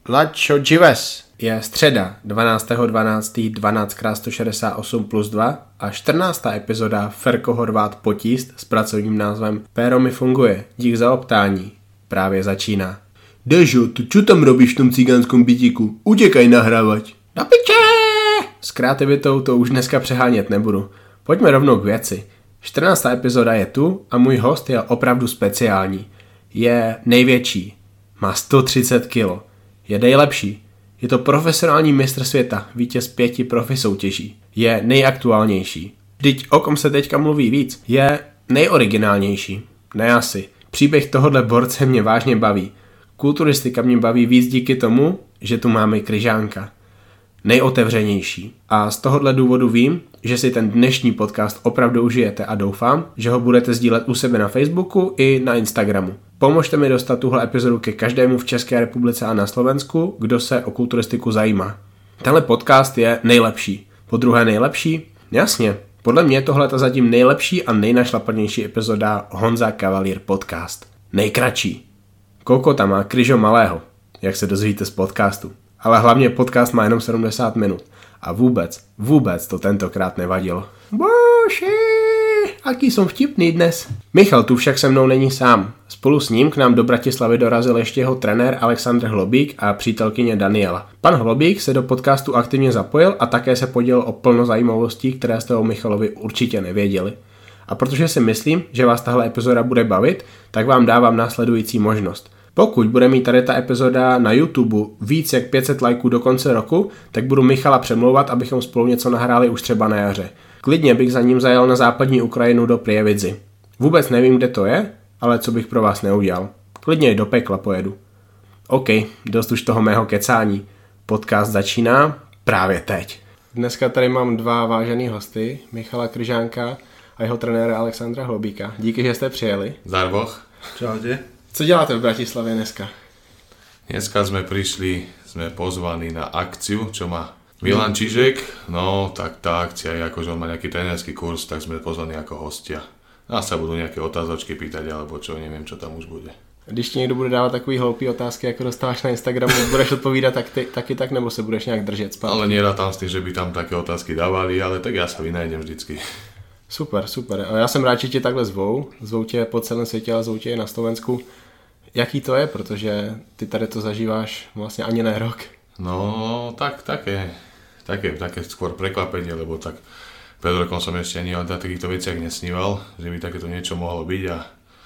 Lačo Gives je středa 12.12. 12x168 plus 2 a 14. epizoda Ferko Horvát Potíst s pracovním názvem Péro mi funguje, dík za optání. Právě začíná. Dežo, tu čo tam robíš v tom cigánskom bytíku? Utěkaj nahrávat. Do piče! S kreativitou to už dneska přehánět nebudu. Pojďme rovnou k věci. 14. epizoda je tu a můj host je opravdu speciální. Je největší. Má 130 kg. Je nejlepší. Je to profesionální mistr světa, vítěz 5 profi soutěží. Je nejaktuálnější. Vždyť o kom se teďka mluví víc. Je nejoriginálnější. Ne asi. Příběh tohohle borce mě vážně baví. Kulturistika mě baví víc díky tomu, že tu máme Kryžánka. Nejotevřenější. A z tohohle důvodu vím, že si ten dnešní podcast opravdu užijete a doufám, že ho budete sdílet u sebe na Facebooku i na Instagramu. Pomožte mi dostat tuhle epizodu ke každému v České republice a na Slovensku, kdo se o kulturistiku zajímá. Tenhle podcast je nejlepší. Podruhé nejlepší? Jasně. Podle mě tohle je zatím nejlepší a nejnašlapanější epizoda Honza Cavalier podcast. Nejkratší. Kokota má Kryžo malého, jak se dozvíte z podcastu. Ale hlavně podcast má jenom 70 minut. A vůbec to tentokrát nevadilo. Bože, aký som vtipný dnes. Michal tu však se mnou není sám. Spolu s ním k nám do Bratislavy dorazil ještě jeho trenér Alexandr Hlobík a přítelkyně Daniela. Pan Hlobík se do podcastu aktivně zapojil a také se podělil o plno zajímavostí, které jste o Michalovi určitě nevěděli. A protože si myslím, že vás tahle epizoda bude bavit, tak vám dávám následující možnost. Pokud bude mít tady ta epizoda na YouTube víc jak 500 lajků do konce roku, tak budu Michala přemlouvat, abychom spolu něco nahráli už třeba na jaře. Klidně bych za ním zajel na západní Ukrajinu do Prievidzi. Vůbec nevím, kde to je, ale co bych pro vás neudělal. Klidně i do pekla pojedu. OK, dost už toho mého kecání. Podcast začíná právě teď. Dneska tady mám dva vážený hosty, Michala Kryžánka a jeho trenéra Alexandra Hlobíka. Díky, že jste přijeli. Zarboch. Čaute. Co děláte v Bratislavě dneska? Dneska sme pozvaní na akciu, čo má Milan Čižek. No, tak tá akcia je ako, že on má nejaký trénerský kurz, tak sme pozvaní ako hostia. Nás sa budú nejaké otázočky pýtať, alebo čo, neviem, čo tam už bude. Když ti někdo bude dávat takový hloupý otázky, jako dostáváš na Instagramu, budeš odpovídat taky tak, nebo se budeš nějak držet zpátky? Ale nerátám s tým, že by tam také otázky dávali, ale tak ja sa vynajdem vždycky. Super. A já jsem rád, že tě takhle zvou tě po celém světě, ale zvou tě i na Slovensku. Jaký to je, protože ty tady to zažíváš vlastně ani ne rok? No, také skôr prekvapenie, lebo tak pred rokom som ešte ani o takýchto veciach nesníval, že by takéto niečo mohlo byť a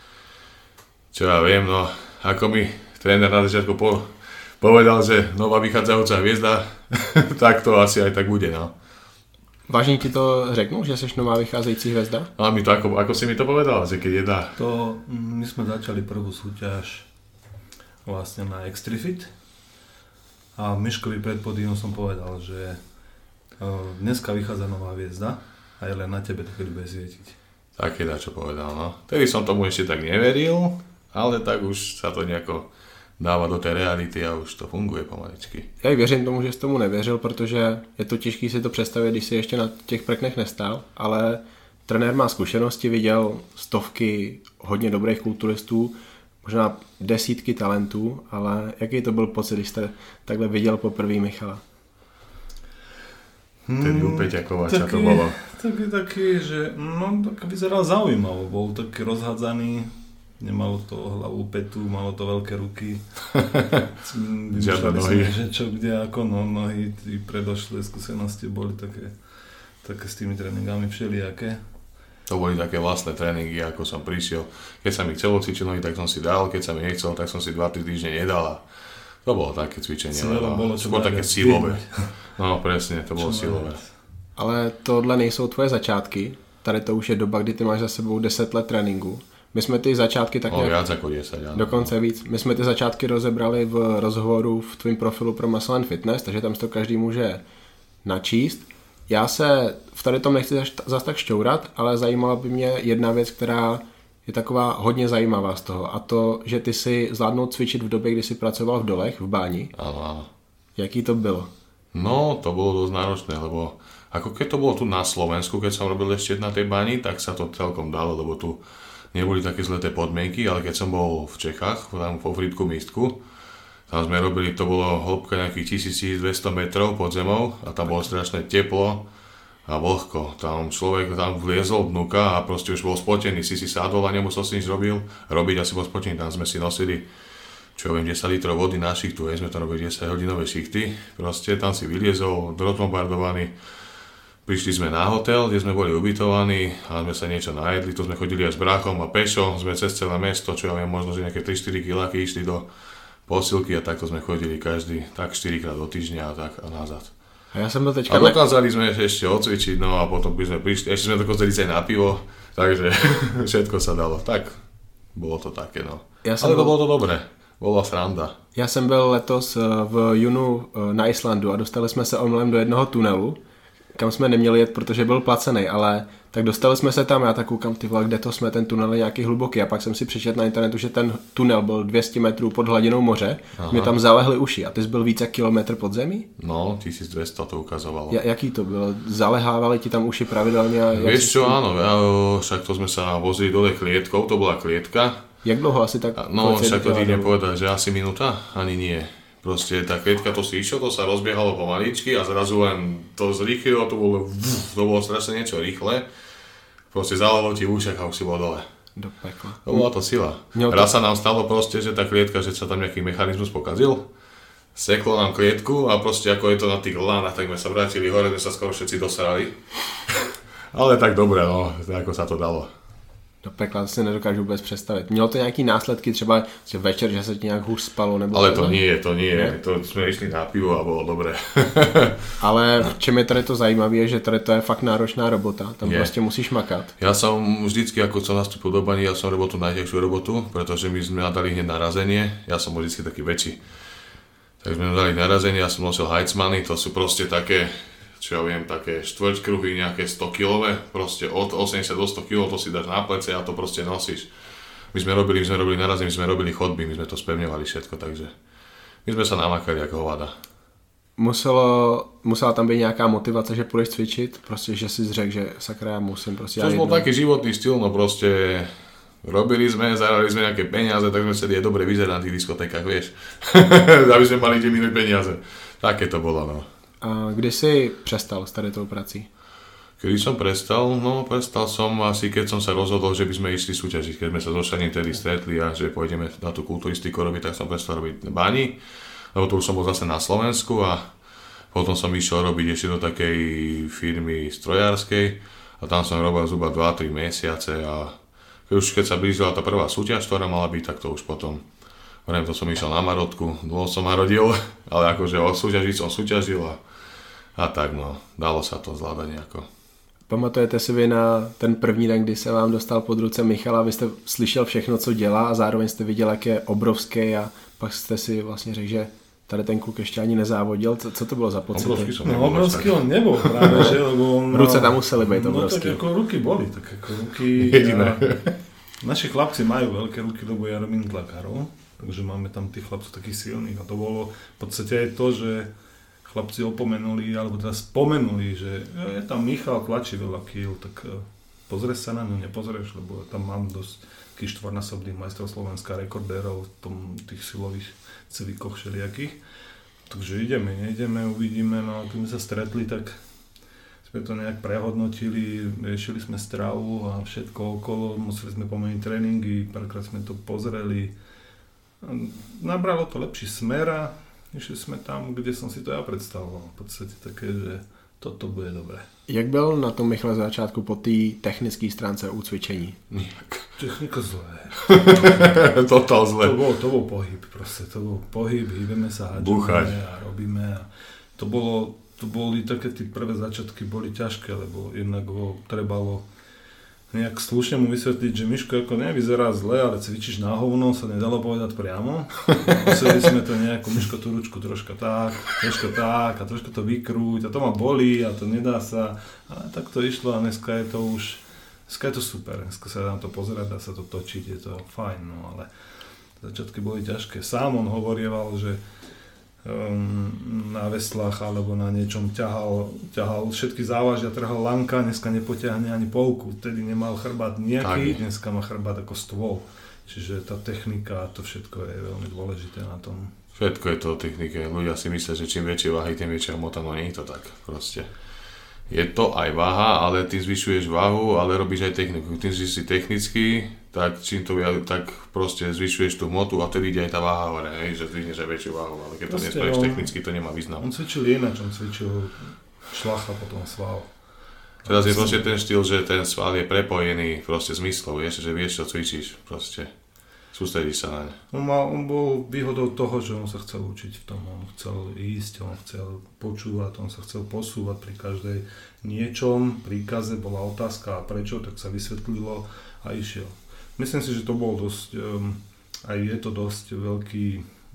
čo ja viem, no ako mi tréner na začiatku povedal, že nová vychádzajúca hviezda, tak to asi aj tak bude, no. Vážně ti to řeknu, že jsi nová vycházející hvězda? A mi to, ako si mi to povedal, že keď jedna... To my sme začali prvú súťaž vlastne na Extrifit a Miškovi pred podínom som povedal, že dneska vychádza nová hviezda a je len na tebe, keď bude svietiť. Také čo povedal, no. Tedy som tomu ešte tak neveril, ale tak už sa to nejako dáva do té reality a už to funguje pomaličky. Já i věřím tomu, že jsi tomu nevěřil, protože je to těžké si to představit, když si ještě na těch prknech nestál, ale trenér má zkušenosti, viděl stovky hodně dobrých kulturistů, možná desítky talentů, ale jaký to byl pocit, když jste takhle viděl poprvé Michala? Tedy u Peťakovača to bolo. Taký, že tak vyzeral zaujímavo, bol taký rozhádzaný. Nemalo to hlavu, petu, malo to veľké ruky. Žiadne nohy. Že čo, kde, ako nohy, tí predošlé skúsenosti boli také s tými tréningami všelijaké. To boli také vlastné tréningy, ako som prišiel. Keď sa mi chcelo cvičiť nohy, tak som si dal, keď sa mi nechcel, tak som si 2-3 týždne nedal. To bolo také cvičenie, skôr také silové. No presne, to bolo silové. Ale tohle nejsou tvoje začátky. Tady to už je doba, kdy ty máš za sebou 10 let tréninku. My jsme ty začátky tak nějak... Viac ako 10, áno. Dokonce víc. My jsme ty začátky rozebrali v rozhovoru v tvým profilu pro Muscle & Fitness, takže tam si to každý může načíst. Já se v tady tom nechci zas tak šťourat, ale zajímala by mě jedna věc, která je taková hodně zajímavá z toho, a to, že ty si zvládnul cvičit v době, kdy jsi pracoval v dolech, v báni. Áno. Jaký to bylo? No, to bolo dosť náročné, lebo ako keď to bolo tu na Slovensku, keď som robil ešte na tej bani, tak sa to celkom dalo, lebo tu neboli také zleté podmienky, ale keď som bol v Čechách, tam vo Frýdku místku, A sme robili, to bolo hĺbka nejakých 1200 metrov pod zemou a tam bolo strašné teplo a vlhko. Tam človek tam vliezol dnuka a proste už bol spotený, si sadol a nemusel si nič robiť a si bol spotený. Tam sme si nosili, čo ja viem, 10 litrov vody na šichtu, sme tam robili 10 hodinové šichty. Proste tam si vyliezol, rozbombardovaný. Prišli sme na hotel, kde sme boli ubytovaní a sme sa niečo najedli. Tu sme chodili aj s bráchom a pešo, sme cez celé mesto, čo ja viem, možno že nejaké 3-4 kiláky išli do posilky a takto sme chodili každý tak 4 krát do týždňa a tak a nazad. A ja som to teďka... A dokázali sme ešte odcvičiť, no a potom by sme prišli, ešte sme dokázali ísť aj na pivo, takže všetko sa dalo. Tak, bolo to také, no. Ale bolo to dobré, bola sranda. Já jsem byl letos v junu na Islandu a dostali jsme se omylem do jednoho tunelu, kam jsme neměli jet, protože byl placený, ale tak dostali jsme se tam, já tak koukám, ty vole, kde to jsme, ten tunel je nějaký hluboký a pak jsem si přečetl na internetu, že ten tunel byl 200 metrů pod hladinou moře, mě tam zalehly uši a ty jsi byl více kilometr pod zemí? No, 1200 to ukazovalo. Jaký to bylo? Zalehávali ti tam uši pravidelně? Vieš čo, áno, však to sme sa vozili dole klietkou, to bola klietka. Jak dlouho asi tak? No, však to ti nepovedať, že asi minúta, ani nie. Proste tá klietka, to si išiel, to sa rozbiehalo pomaličky a zrazu len to zrýchlilo, to bolo strašne niečo rýchle. Proste zalalo ti v ušiach a už si bol dole. Do pekla. To bola to sila. Raz sa nám stalo proste, že tá klietka, že sa tam nejaký mechanizmus pokazil. Seklo nám klietku a proste ako je to na tých lánach, tak sme sa vrátili hore, sme sa skoro všetci dosrali. Ale tak dobre, no, ako sa to dalo. Do pekla, to si nedokážu vůbec představit. Mělo to nějaký následky, třeba že večer, že se ti nějak hůř spalo? Nebo ale to nie. To jsme išli na pivo a bylo dobré. Ale v čem je tady to zajímavé, je, že tady to je fakt náročná robota. Tam prostě musíš makat. Ja som vždycky, ako som nastúpil do bani, ja som robil tú najťažšiu robotu, pretože my sme dali hneď narazenie. Ja som bol vždycky taký väčší. Tak sme dali narazenie, ja som nosil Heitzmany, to sú proste také, čo ja viem, také štvrťkruhy, nejaké 100 kilové, proste od 80 do 100 kg, to si dáš na plece a to proste nosíš. My sme robili narazenie, my sme robili chodby, my sme to spevňovali všetko, takže my sme sa namakali ako hovada. Musela tam být nějaká motivace, že půjdeš cvičit, prostě, že si řekl, že sakra, já musím prostě... To bol taký životný styl, no proste robili sme, zahrali sme nejaké peniaze, tak sme chceli aj dobre vyzerať na tých diskotékach, vieš, aby sme mali tie minúť peniaze. Také to bolo, no. A kdy jsi přestal s tady tou prací? Kedy som prestal? No, prestal som asi, keď som sa rozhodol, že by sme išli súťažiť. Keď sme sa so Šaním tedy stretli a že pôjdeme na tú kulturistiku robiť, tak som prestal robiť bani, lebo to už som bol zase na Slovensku a potom som išiel robiť ešte do takej firmy strojárskej a tam som robil zhruba 2-3 mesiace a keď sa blížila tá prvá súťaž, ktorá mala byť, tak to už potom to som išiel na Marotku, dlho som marodil, ale akože súťažiť som súťažil a tak no, dalo sa to zvládať nejako. Pamatujete si vy na ten první den, kdy se vám dostal pod ruce Michal a vy jste slyšel všechno, co dělá a zároveň jste viděl, jak je obrovský a pak jste si vlastně řekl, že tady ten kluk ještě ani nezávodil. Co to bylo za pocit? Obrovský on nebol práve, že? Lebo on ruce tam museli být obrovský. No tak ako ruky boli, tak ako ruky... Naši chlapci majú veľké ruky, lebo ja robím tlakárov, takže máme tam tých chlapcov takých silných a to bolo v podstate aj to, že chlapci opomenuli, alebo teda spomenuli, že je tam Michal, tlačí veľa kíl, tak pozrieš sa na ňu, nepozrieš, lebo tam mám dosť takých štvornásobných majstrov Slovenska, rekordérov v tých silových cvikoch všelijakých. Takže nejdeme, uvidíme, no a keď sme sa stretli, tak sme to nejak prehodnotili, riešili sme stravu a všetko okolo, museli sme pomeniť tréningy, párkrát sme to pozreli. Nabralo to lepší smer a išli sme tam, kde som si to ja predstavoval. V podstate také, že toto bude dobré. Jak byl na tom Michal začátku po té technické stránce u cvičení? Technika zlé. Totál zlé. To bol pohyb proste, to bol pohyb, hýbeme sa, hádžeme a robíme. A to boli také tie prvé začiatky boli ťažké, lebo jednak ho trebalo nejak slušne mu vysvetliť, že Miško ako nevyzerá zle, ale cvičíš na hovno, sa nedalo povedať priamo. Museli sme to nejako, Miško tú ručku troška tak a troška to vykrúť a to ma bolí a to nedá sa. Ale tak to išlo a dneska je to super, dneska sa dá na to pozerať, dá sa to točiť, je to fajn, no ale začiatky boli ťažké. Sám on hovorieval, že na veslách alebo na niečom ťahal všetky závažia, trhal lanka, dneska nepotiahne ani polku, vtedy nemal chrbát nejaký, dneska má chrbát ako stôl. Čiže tá technika, to všetko je veľmi dôležité na tom. Všetko je to o technike. Ľudia si myslia, že čím väčšie váhy, tým väčšia hmota, no nie je to tak proste. Je to aj váha, ale ty zvyšuješ váhu, ale robíš aj techniku. Tým, že si technický, tak čím to tak proste zvyšuješ tú hmotu a vtedy ide aj tá váha hore, že zdvihneš aj väčšiu váhu, ale keď to nespravíš technicky, to nemá význam. On cvičil ináč, on cvičil šlach a potom sval. Teraz je proste ten štýl, že ten sval je prepojený proste zmyslov, že vieš, čo cvičíš proste. Sústredíš sa naň. On bol výhodou toho, že on sa chcel učiť v tom, on chcel ísť, on chcel počúvať, on sa chcel posúvať pri každej niečom, príkaze bola otázka a prečo, tak sa vysvetlilo a išiel. Myslím si, že to bol dosť, aj je to dosť veľký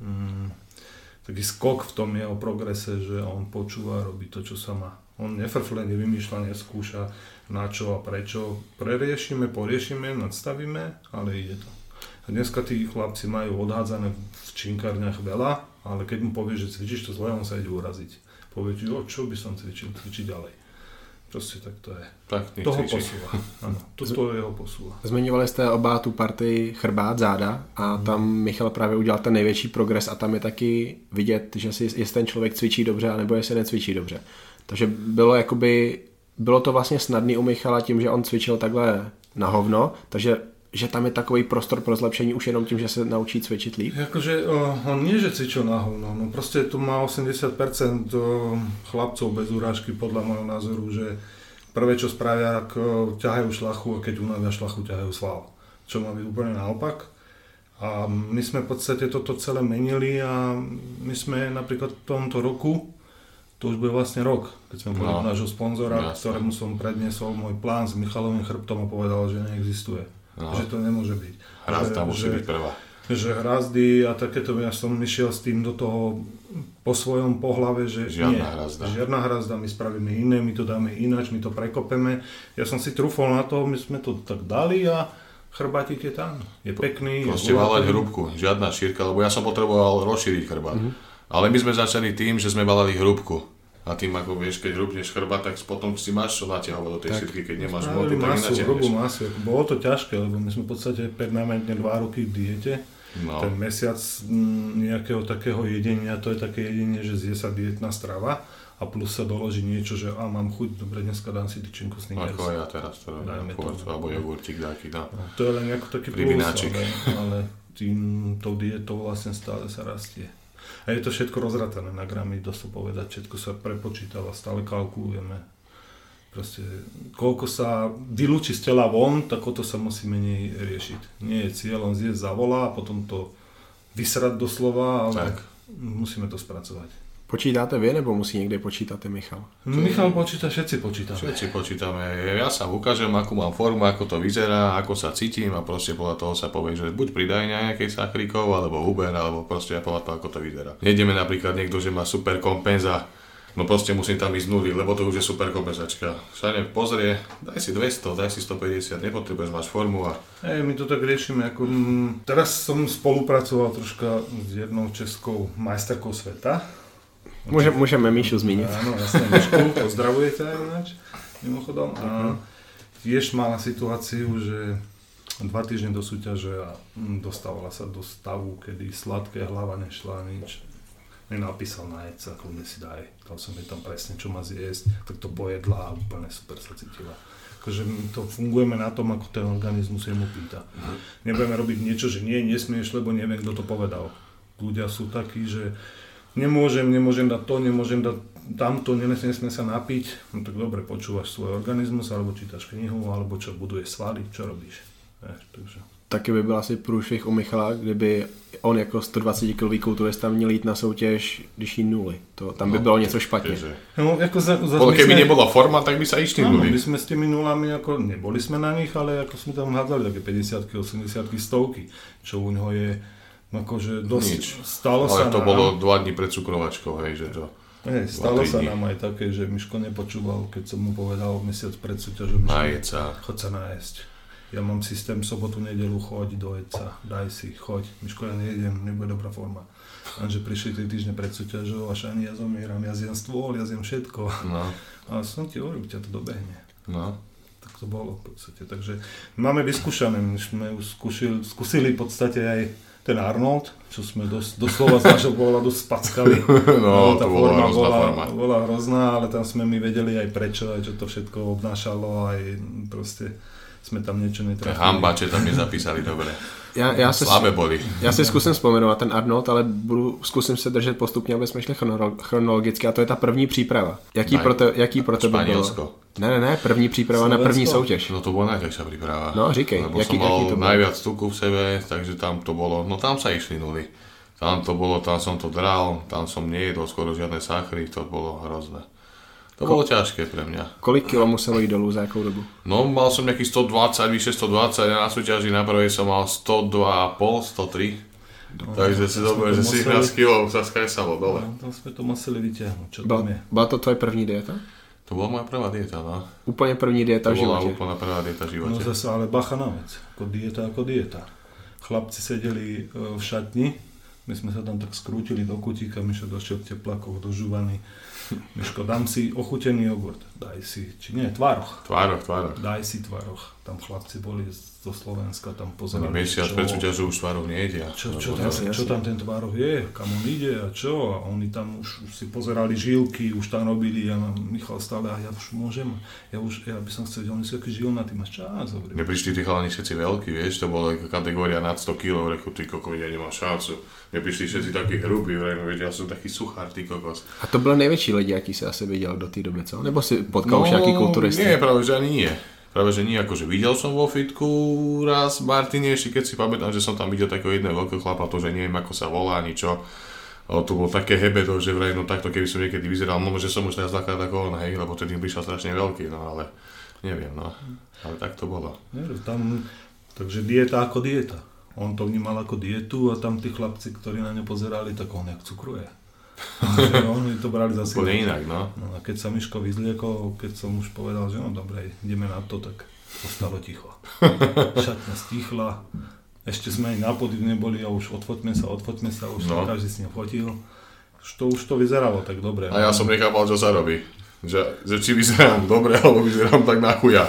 taký skok v tom jeho progrese, že on počúva, robí to, čo sa má. On nefrfle, nevymýšľa, neskúša na čo a prečo. Preriešime, poriešime, nadstavíme, ale ide to. A dneska tí chlapci majú odhádzané v činkárniach veľa, ale keď mu povieš, že cvičíš to zle, on sa ide uraziť. Povie ti, čo by som cvičiť ďalej. Proste tak to je. Tak toho posúva. Áno, to jeho posúva. Zmiňovali jste oba tu partii chrbát, záda a tam Michal právě udělal ten největší progres a tam je taky vidět, že jestli ten člověk cvičí dobře, anebo jestli necvičí dobře. Takže bylo to vlastně snadný u Michala tím, že on cvičil takhle na hovno, takže že tam je takový prostor pro zlepšení už jenom tím, že se naučí cvičit líp? Akože on nie, že cvičil na hovno, no proste tu má 80% chlapcov bez urážky podľa môjho názoru, že prvé čo spravia, ak ťahajú šlachu a keď unavia šlachu, ťahajú sval. Čo má byť úplne naopak. A my sme v podstate toto celé menili a my sme napríklad v tomto roku, to už bude vlastne rok, keď sme boli nášho sponzora, ktorému som predniesol môj plán s Michalovým chrbtom a povedal, že neexistuje. No. Že to nemôže byť. Hrazda musí byť prvá. Že hrazdy a takéto, ja som išiel s tým do toho po svojom pohlave, že žiadna hrazda, my spravíme iné, my to dáme ináč, my to prekopeme. Ja som si trúfol na to, my sme to tak dali a chrbátik je tam. Je pekný. Proste valať hrúbku, žiadna šírka, lebo ja som potreboval rozšíriť chrbát. Ale my sme začali tým, že sme valali hrúbku. A tým, ako vieš, keď hrúbneš chrbát, tak potom si máš čo natiahovať do tej šírky, keď nemáš moty, tak natiahneš. Hrubú masu. Bolo to ťažké, lebo my sme v podstate permanentne 2 roky v diete. No. Ten mesiac nejakého takého jedenia, to je také jedenie, že zje sa dietná strava a plus sa doloží niečo, že mám chuť, dobre, dneska dám si tyčinku Snickers. Ako ja teraz to robím, alebo jogurtík nejaký, no. To je len ako taký plus, ale tou dietou vlastne stále sa rastie. A je to všetko rozratané na gramy, dá sa povedať, všetko sa prepočítava, stále kalkulujeme. Proste, koľko sa vylúči z tela von, tak o to sa musí menej riešiť. Nie je cieľom zjesť za vola a potom to vysrať doslova, ale musíme to spracovať. Počítáte vy, nebo musí niekde počítate Michal? Michal počíta, všetci počítame. Všetci počítame. Ja sa ukážem, akú mám formu, ako to vyzerá, ako sa cítim a proste podľa toho sa povie, že buď pridaj nejakej sakrikov, alebo Uber, alebo proste podľa toho, ako to vyzerá. Nejdeme napríklad niekto, že má super kompenza, no proste musím tam ísť nuly, lebo to už je super kompenzačka. Sa pozrie, daj si 200, daj si 150, nepotrebuješ, máš formu a... My to tak riešime, ako... Teraz som spolupracoval troška s jednou českou majsterkou sveta. Môžeme Míšu zmíniť. Áno, jasne, Míšku, pozdravujete aj ináč, mimochodom. A tiež mala situáciu, že 2 týždne do súťaže a dostávala sa do stavu, kedy sladké hlava nešla nič. Nenapísal na jedca, kľudne si daj. Dal som jej tam presne, čo má zjesť, tak to pojedla a úplne super sa cítila. Akože my to fungujeme na tom, ako ten organizmus jemu pýta. Nebudeme robiť niečo, že nesmieš, lebo neviem, kto to povedal. Ľudia sú takí, že nemôžem dať to, nemôžem dať tamto, nesmie sa napiť. No tak dobre, počúvaš svoj organizmus, alebo čítaš knihu, alebo čo, buduješ svaly, čo robíš. Takže. Taky by byl asi průšvih u Michala, kdyby on jako 120 kg kulturista měl jít na soutěž, když jí nuly. Tam by bylo něco špatně. No, keby nebola forma, tak by sa išli nuly. My sme s tými nulami, ako neboli sme na nich, ale ako sme tam hádzali také 50-ky, 80-ky, 100-ky, čo u neho je akože dosť stalo sa. Ale to bolo 2 dní pred cukrovačkou, hej, že to... Stalo sa nám aj také, že Miško nepočúval, keď som mu povedal mesiac pred súťažom, že chod sa nájsť. Ja mám systém sobotu, nedeľu, choď do jedca, daj si, choď. Miško, ja nejedem, nebude dobrá forma. Lenže prišli 3 týždne pred súťažou a šani, ja zomieram, ja zjem stôl, ja zjem všetko. No. A som ti hovoril, ťa to dobehne. No. tak to bolo v podstate. Takže máme vyskúšané, my sme už skúsili v podstate aj ten Arnold, čo sme doslova z nášho pohľadu spackali. No, tá to bola forma bola hrozná, ale tam sme my vedeli aj prečo, aj čo to všetko obnášalo, aj proste sme tam niečo netrafili. Hamba, že tam nezapísali dobre. Slabé boli. Já si zkusím vzpomenout ten Arnold, ale zkusím se držet postupně, aby jsme šli chronologicky, a to je ta první příprava. Jaký pro tebe bylo? Ne, první příprava na první soutěž. No to bola najťažšia príprava. No říkej, lebo som mal najviac tuku v sebe, takže tam to bolo, no tam sa išli nuly. Tam to bolo, tam som to dral, tam som nejedol skoro žiadne sachry, to bolo hrozné. To bolo ťažké pre mňa. Kolik kilo muselo jít dolů, za jakou dobu? No mal som nejakých 120, vyše 120, ja na súťaži na prvej som mal 102,5, 103. No, takže si dobre, že 17 kg sa skresalo dole. No, tam sme to museli vyťahnuť, čo tam je. Byla to tvoje první dieta? To bola moja prvá dieta, no. Úplně první dieta v životě? To bola úplná prvá dieta v živote. No zase, ale bacha na vec, ako dieta. Chlapci sedeli v šatni, my sme sa tam tak skrútili do kutíka, Mišo došiel v teplákoch dožúvaný. Miško, dám si ochutený jogurt, daj si, či nie, tvároch. Tvároch. Daj si tvároch. Tam chlapci boli zo Slovenska, tam pozerali. Mesiac pred súťažou už tvároch nejedia. Čo tam ten tvároch je, kam on ide a čo? A oni tam už si pozerali žilky, už tam robili, ja mám Michal stále, a ja už môžem, ja by som chcel, oni sú taký žilnatý, máš čas. Neprišli tí chalani všetci veľkí, vieš, to bola kategória nad 100 kg, reku, ty kokos, ja nemám šancu. Neprišli všetci takí hrubí, ja som taký suchár, ty kokos. A to byl největší lidi, jaký si asi viděl do té doby, co? Nebo si potkal už nějaký kulturisty? Nie, práve že ani nie. Práve že nie, akože videl som vo fitku raz v Martine, ešte keď si pamätám, že som tam videl takého jedného veľkého chlapa, to, že neviem ako sa volá, ani čo. Ale to bolo také hebeto, že vraj, no takto keby som niekedy vyzeral, možno, že som už teraz dvakrát ako on, hej, lebo tedy prišiel strašne veľký, no ale neviem, no. Ale tak to bolo. Takže dieta ako dieta. On to vnímal ako dietu a tam tí chlapci, ktorí na ňo pozerali, tak on jak cukruje. Oni to brali zase úplne inak, no. A keď sa Miško vyzliekol, keď som už povedal, že no dobre, ideme na to, tak ostalo ticho. Šatňa stichla, ešte sme aj na pódiu neboli a už odfoťme sa, už no. Každý si nefotil. Už to vyzeralo tak dobre. A ja som nechápal, čo sa robí. Že či vyzerám dobre, alebo vyzerám tak na chuja.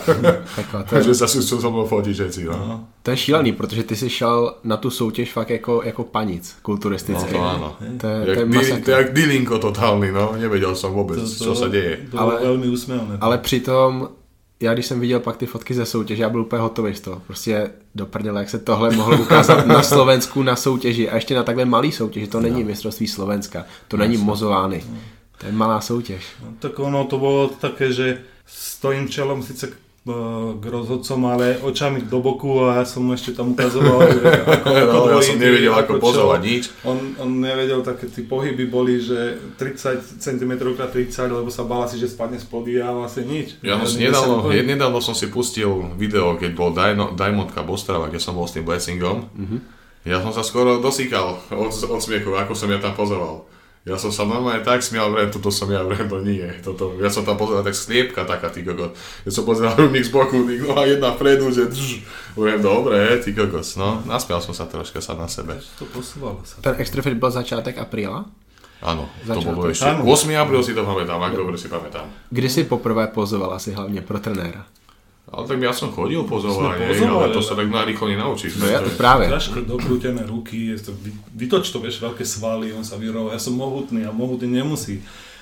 Že sa sú so mnou fotiť všetci, no. To je šílený, protože ty si šel na tu soutěž fakt jako panic kulturistický. No to áno. To je jak dilinko totálny, no. Nevedel som vôbec, co sa deje. To bylo velmi úsměvné. Ale přitom, já když jsem viděl pak ty fotky ze soutěže, já byl úplně hotový z toho. Prostě do prdele, jak se tohle mohlo ukázat na Slovensku na soutěži a ještě na takhle malý soutěži. To není mistrovství Slovenska, to není Mozolány. To je malá soutěž. No, tak ono to bolo také, že stojím čelom síce k rozhodcom, ale očami do boku a ja som mu ešte tam ukazoval, ako ja som nevedel ako pozovať nič. On nevedel, také tí pohyby boli, že 30 cm x 30, lebo sa bál asi, že spadne z podia a vlastne nič. Ja nedávno som si pustil video, keď bol Diamond Cup Ostrava, kde som bol s tým blessingom. Ja som sa skoro dosýkal od smiechu, ako som ja tam pozoval. Ja som sa normálne tak smial, toto som ja, to nie. Ja som tam pozeral tak sliepka taká, ty kokos. Ja som pozeral rovník z boku, no a jedna vpredu, že dobre, ty kokos. No, nasmial som sa troška sám na sebe. To posúvalo sa. Ten Extrafit byl začátek apríla? Áno, to bolo ešte. 8. apríl si to pamätám, ak dobre si pamätám. Kdy si poprvé pozoval asi hlavne pro trenéra? Ale tak ja som chodil pozovať, ale to sa tak rýchlo nenaučíš. No ja to práve. Ťažko dokrútené ruky, vytoč to, vieš, veľké svaly, on sa vyroval, ja som mohutný a mohutný nemusí.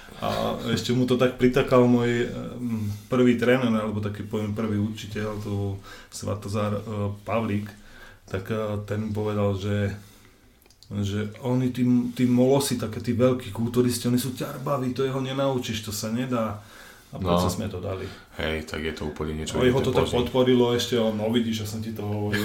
A ešte mu to tak pritakal môj prvý tréner, alebo taký poviem prvý učiteľ, to Svatozár Pavlík, tak ten povedal, že oni tí molosi, také tí veľkí kulturisti, oni sú ťarbaví, to jeho nenaučíš, to sa nedá. A prečo sme to dali? Hej, tak je to úplne niečo. No jeho to tak podporilo ešte, no vidíš, že som ti to hovoril.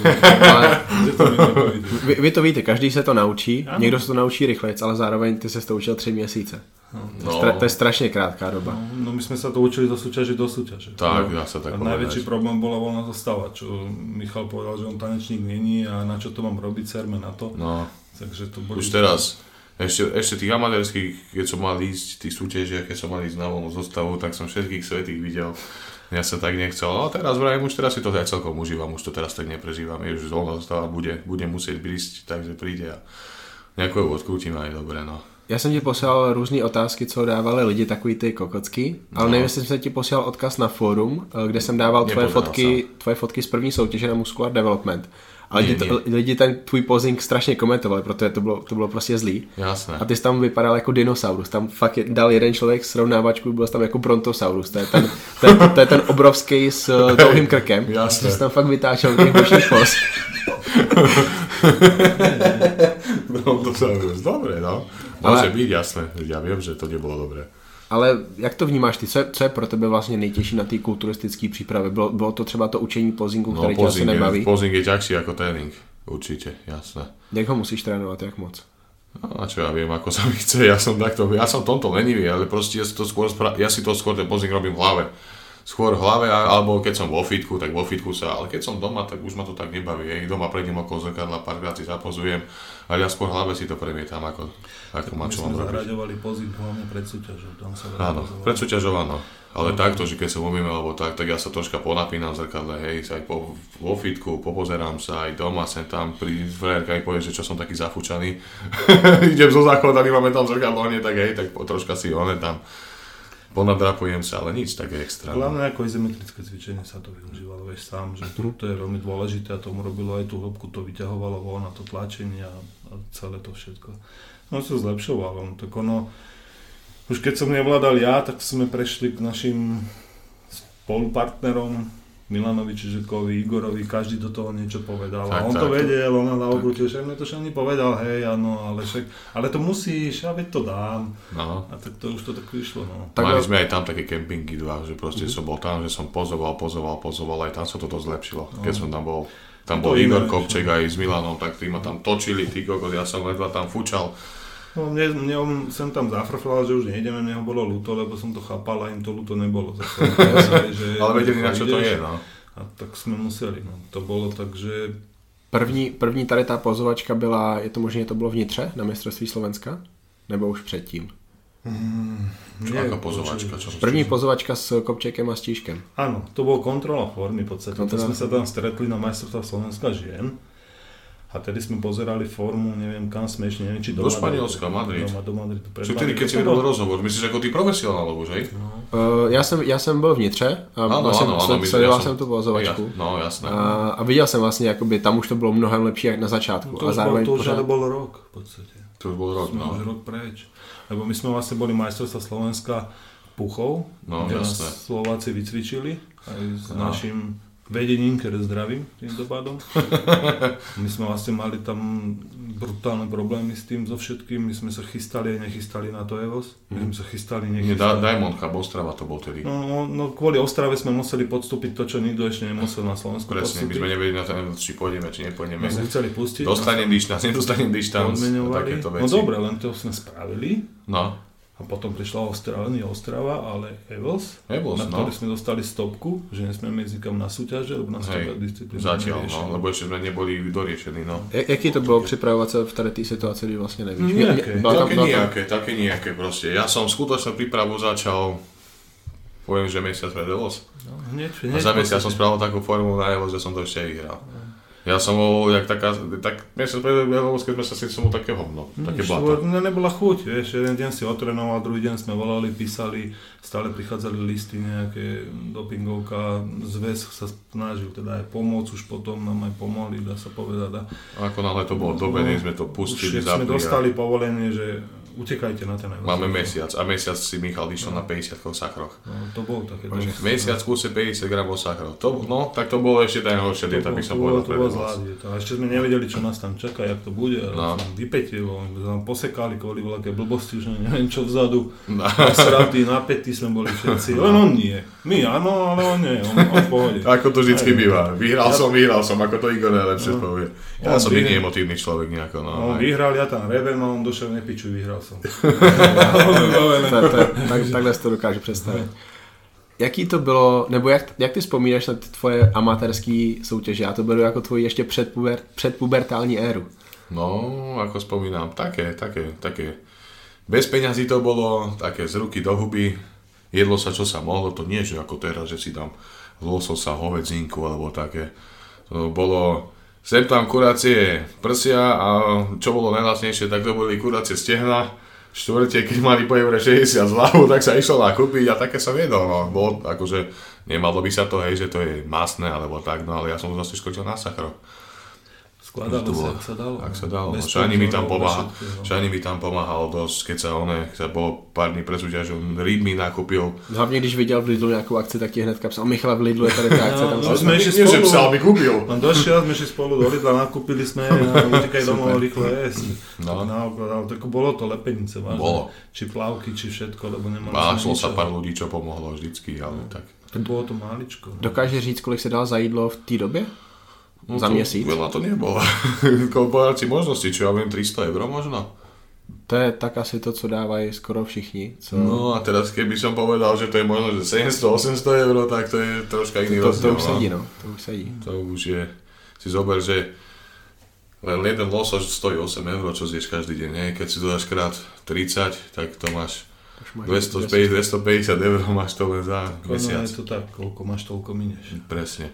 Vy to víte, každý se to naučí, někdo se to naučí rychlejc, ale zároveň ty se to učil 3 měsíce. To je strašne krátká doba. No my sme sa to učili do súťaže. Tak, dá sa tak povedať. Najväčší problém bola voľná zostava, čo Michal povedal, že on tanečník není a na čo to mám robiť, serme na to. No, takže to boli... Už teraz... Ešte tých amatérských, keď som mal ísť, tých súťažiach, keď som mal ísť na voľnú zostavu, tak som všetkých svätých videl. Ja sa tak nechcel, ale teraz vrajím, už teraz si to aj celkom užívam, už to teraz tak neprežívam. Je už voľná zostava, bude musieť prísť, takže príde a nejako ju odkrútim aj dobre, no. Já jsem ti posílal různé otázky, co dávali lidi, takový ty kokocky, ale nevím, jestli jsem ti posílal odkaz na fórum, kde jsem dával tvoje fotky z první soutěže na Muscular Development. Ale lidi ten tvůj posing strašně komentovali, protože to bylo prostě zlý. Jasné. A ty jsi tam vypadal jako dinosaurus. Tam fakt dal jeden člověk srovnávačku, byl jsi tam jako brontosaurus. To je ten obrovský s dlouhým krkem. Jasné. Ty jsi tam fakt vytáčel těch bočných pos. Brontosaurus, dobre, no. Môže byť, jasné. Ja viem, že to nebolo dobré. Ale jak to vnímáš ty? Co je pro tebe vlastně nejtěžší na té kulturistické přípravě? Bylo to třeba to učení pozingu, které tě asi nebaví? Posing je ťažší ako tréning, určite, jasné. Jak ho musíš trénovat, jak moc? No, a čo ja viem, ako sa mi chce, ja som tomto lenivý, ale proste ja si to skôr ten posing robím v hlave. Skôr v hlave, alebo keď som vo fitku, tak vo fitku ale keď som doma, tak už ma to tak nebaví. Doma prejdem okolo zrkadla, párkrát si zapozujem, ale ja skôr v hlave si to premietam, ako má čo mám robiť. My sme zaraďovali pozík hlavne pred súťažou. Áno, pred súťažou áno. Ale takto, že keď sa umíme, alebo tak ja sa troška ponapínam v zrkadle, aj vo fitku, popozerám sa, aj doma sem tam, pri frajerka aj povie, že čo som taký zafúčaný. Idem zo záchoda, máme tam zrkadlo, nie tak tak troška si tam ponadrapujem sa, ale nič také extra. Hlavne ako izometrické cvičenie sa to využívalo, vieš sám, že to je veľmi dôležité a tomu robilo aj tú hĺbku, to vyťahovalo von a to tlačenie a celé to všetko. No sa zlepšovalo, tak už keď som nevládal ja, tak sme prešli k našim spolupartnerom Milanovi Čižekovi, Igorovi, každý do toho niečo povedal. Tak, a on to vedel, on na obrutil, že mne to však nepovedal, hej, áno, ale to musíš, ja veď to dám. No. A tak to už to tak vyšlo, no. Mali sme aj tam také kempingy dva, že proste som bol tam, že som pozoval, aj tam sa to zlepšilo. Keď som tam bol, bol Igor Kopček aj s Milanom, tak tí ma tam točili, ty kokos, ja som ledva tam fučal. No, mne on sem tam zafrflal, že už nejdeme, mne ho bolo ľúto, lebo som to chápal a im to ľúto nebolo. Ale vedeli, na čo to je, no. A tak sme museli, no. To bolo tak, že... První tady ta pozovačka byla, je to možné, to bylo v Nitře na mistrovství Slovenska? Nebo už předtím? Aká pozovačka? První pozovačka s Kopčekem a Stíškem. Áno, to bol kontrola formy v podstate. To sme sa tam stretli na majstrovstvách Slovenska žien. A tedy sme pozerali formu, neviem kam sme ešte, neviem či do Španielska, Madrid. Do Madridu. Čiže tedy, keď si vedel rozhovor, myslíš ako ty profesionál, alebo že? No. Já jsem byl v Nitře a sledoval jsem tu pozovačku. No, jasné. A viděl jsem vlastně, jakoby, tam už to bylo mnohem lepší jak na začátku. To už bol rok v podstate. To už bol rok, no. Už rok preč. Lebo my sme vlastne boli majstrovstvá Slovenska Puchov, kde nás Slováci vycvičili aj s našim vedením, ktoré zdravím týmto pádom. My sme vlastne mali tam brutálne problémy s tým, so všetkým. My sme sa chystali a nechystali na to EVOS. My sme sa chystali, nechystali. Diamond Cup, Ostrava to bol tedy. No kvôli Ostrave sme museli podstúpiť to, čo nikto ešte nemusel na Slovensku podstúpiť. Presne, my sme nevedeli na to, či pôjdeme, či nepôjdeme. My sme chceli pustiť. Dostanem dištanc, nedostanem dištanc. Takéto veci. No dobre, len to sme spravili. No. A potom prišla Ostrava, ale EVOS, na ktorý sme dostali stopku, že nesmieme ísť nikam na súťaže, lebo nás to disciplína zatiaľ, no, lebo ešte sme neboli doriešení, no. Jaký to bolo pripravovať sa v tej situácii, kdy vlastne nevíš? Také nejaké proste. Ja som skutočnú prípravu začal, poviem, že mesiac pred EVOS. No, hneď, a za mesiac som spravil takú formu na EVOS, že som to ešte vyhral. Ja som bol jak taká, mesiac pred EVOS, keď sme sa si som také hovno, také blata. Nebola chuť, vieš, jeden deň si otrénoval, druhý deň sme volali, písali, stále prichádzali listy nejaké, dopingovka, zväz sa snažil teda aj pomôcť, už potom nám aj pomohli, dá sa povedať. A ako náhle to bolo dobre, sme to pustili, už sme dostali povolenie, že utekajte na ten EVOS. Máme mesiac a mesiac si Michal išiel na 50 sachroch. No, to bol také. Mesiac kúse 50 gramov sachrov. No, tak to bolo ešte najhoršia dieta, by som povedal. To bola zlá dieta. A ešte sme nevedeli, čo nás tam čaká, jak to bude. No. Vypätilo, nám posekali kvôli veľké blbosti, už neviem čo vzadu. Nasratí, napätí sme boli všetci. Len on nie. My áno, ale on nie. On v pohode. Ako to vždycky býva. Vyhral som, ako to Igor najlepšie povie. Ja som nie emotívny človek nejako. On vyhral, ja tam revem a on došiel nepičuj, vyhral som. Takhle si to dokážu představit. Jaký to bylo, nebo jak ty vzpomínáš na ty tvoje amatérské soutěže? Já to beru jako tvoji ještě předpubertální éru. No, ako spomínam, také. Bez peňazí to bolo, také z ruky do huby. Jedlo sa, čo sa mohlo, to nie, že ako teraz, že si dám lososa, hovedzinku alebo také. To bolo... Sem tam kurácie prsia a čo bolo najlacnejšie, tak to boli kurácie stehna. štvrte, keď mali po eure 60 zľavu, tak sa išlo nakúpiť a také som jedol, no. Bolo akože, nemalo by sa to, hej, že to je masné alebo tak, no ale ja som to zase škodil na sachro. Skladalo sa, ak sa dalo. Ak sa dalo, no. Šani mi tam pomáhal dosť, keď sa bolo pár dní pred súťažou, Reed mi nakúpil. Hlavně když viděl v Lidlu nějakou akci, tak ti hnedka psal, Michale, v Lidlu je tady tá akce. Tam sme išli spolu. Že psal, mi kúpil. On došiel, sme išli spolu do Lidla, nakúpili sme a utekaj domov rýchlo jesť. No. Tak bolo to lepenice, vážne. Bolo. Či plavky, či všetko, lebo nemali Našlo sa pár ľudí, čo pomohlo vždycky, ale tak. Bolo to máličko. Dokáže říct, kolik se dal za jídlo v té době? No za to, měsíc? Veľa to nebolo. Povedal si možnosti, čo ja viem, 300 eur možno. To je tak asi to, co dávají skoro všichni. Co... No a teraz keby som povedal, že to je možno, že 700-800 eur, tak to je troška iný rozdiel. To už sedí, no. To už sedí. To už je, si zober, že len jeden losoš stojí 8 eur, čo zješ každý deň, nie? Keď si to dáš krát 30, tak to máš 250 eur, máš to len za mesiac. No je to tak, koľko máš, toľko minieš. Presne.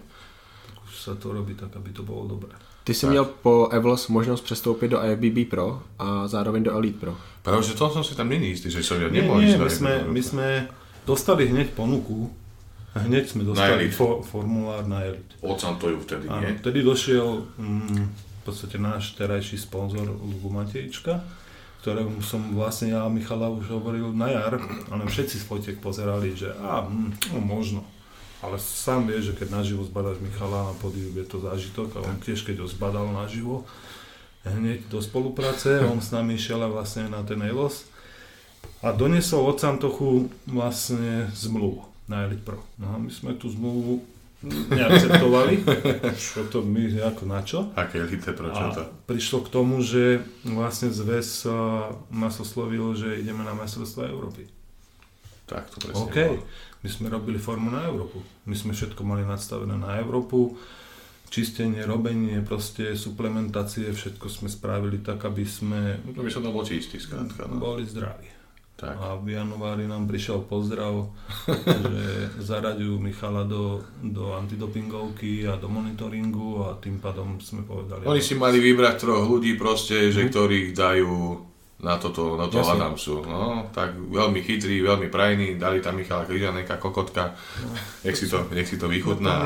Sa to robí tak, aby to bolo dobré. Ty jsi měl po Evlos možnost přestoupit do IFBB Pro a zároveň do Elite Pro. Práve, že to som si tam není istý, že som ja nemohol ísť. My sme dostali hneď ponuku, hneď sme dostali formulár na Elite. Od Santoju vtedy, nie? Vtedy došiel v podstate náš terajší sponzor Lubu Matejčka, ktorému som vlastne ja a Michala už hovoril na jar, ale všetci z fotiek pozerali, že možno. Ale sám vie, že keď naživo zbadáš Michala na pódiu, je to zážitok a on tiež keď ho zbadal naživo hneď do spolupráce, on s nami išiel vlastne na ten Elos a doniesol od Santochu vlastne zmluvu na Elite Pro. No a my sme tú zmluvu neakceptovali, čo to my ako na čo? Aké Elite Pro, čo to? A prišlo k tomu, že vlastne zväz nás oslovil, že ideme na majstrovstvá Európy. Tak to presne bolo. My sme robili formu na Európu. My sme všetko mali nadstavené na Európu. Čistenie, robenie, proste suplementácie, všetko sme spravili tak, aby sme... To by sa dalo čistý, skrátka. No. Boli zdraví. Tak. A v januári nám prišiel pozdrav, že zaraďujú Michala do antidopingovky a do monitoringu a tým pádom sme povedali... Oni si mali vybrať 3 ľudí proste, že ktorých dajú na toto Adamsu. No, tak veľmi chytrý, veľmi prajný, dali tam Michala Križaneka, kokotka, nech si to vychutná.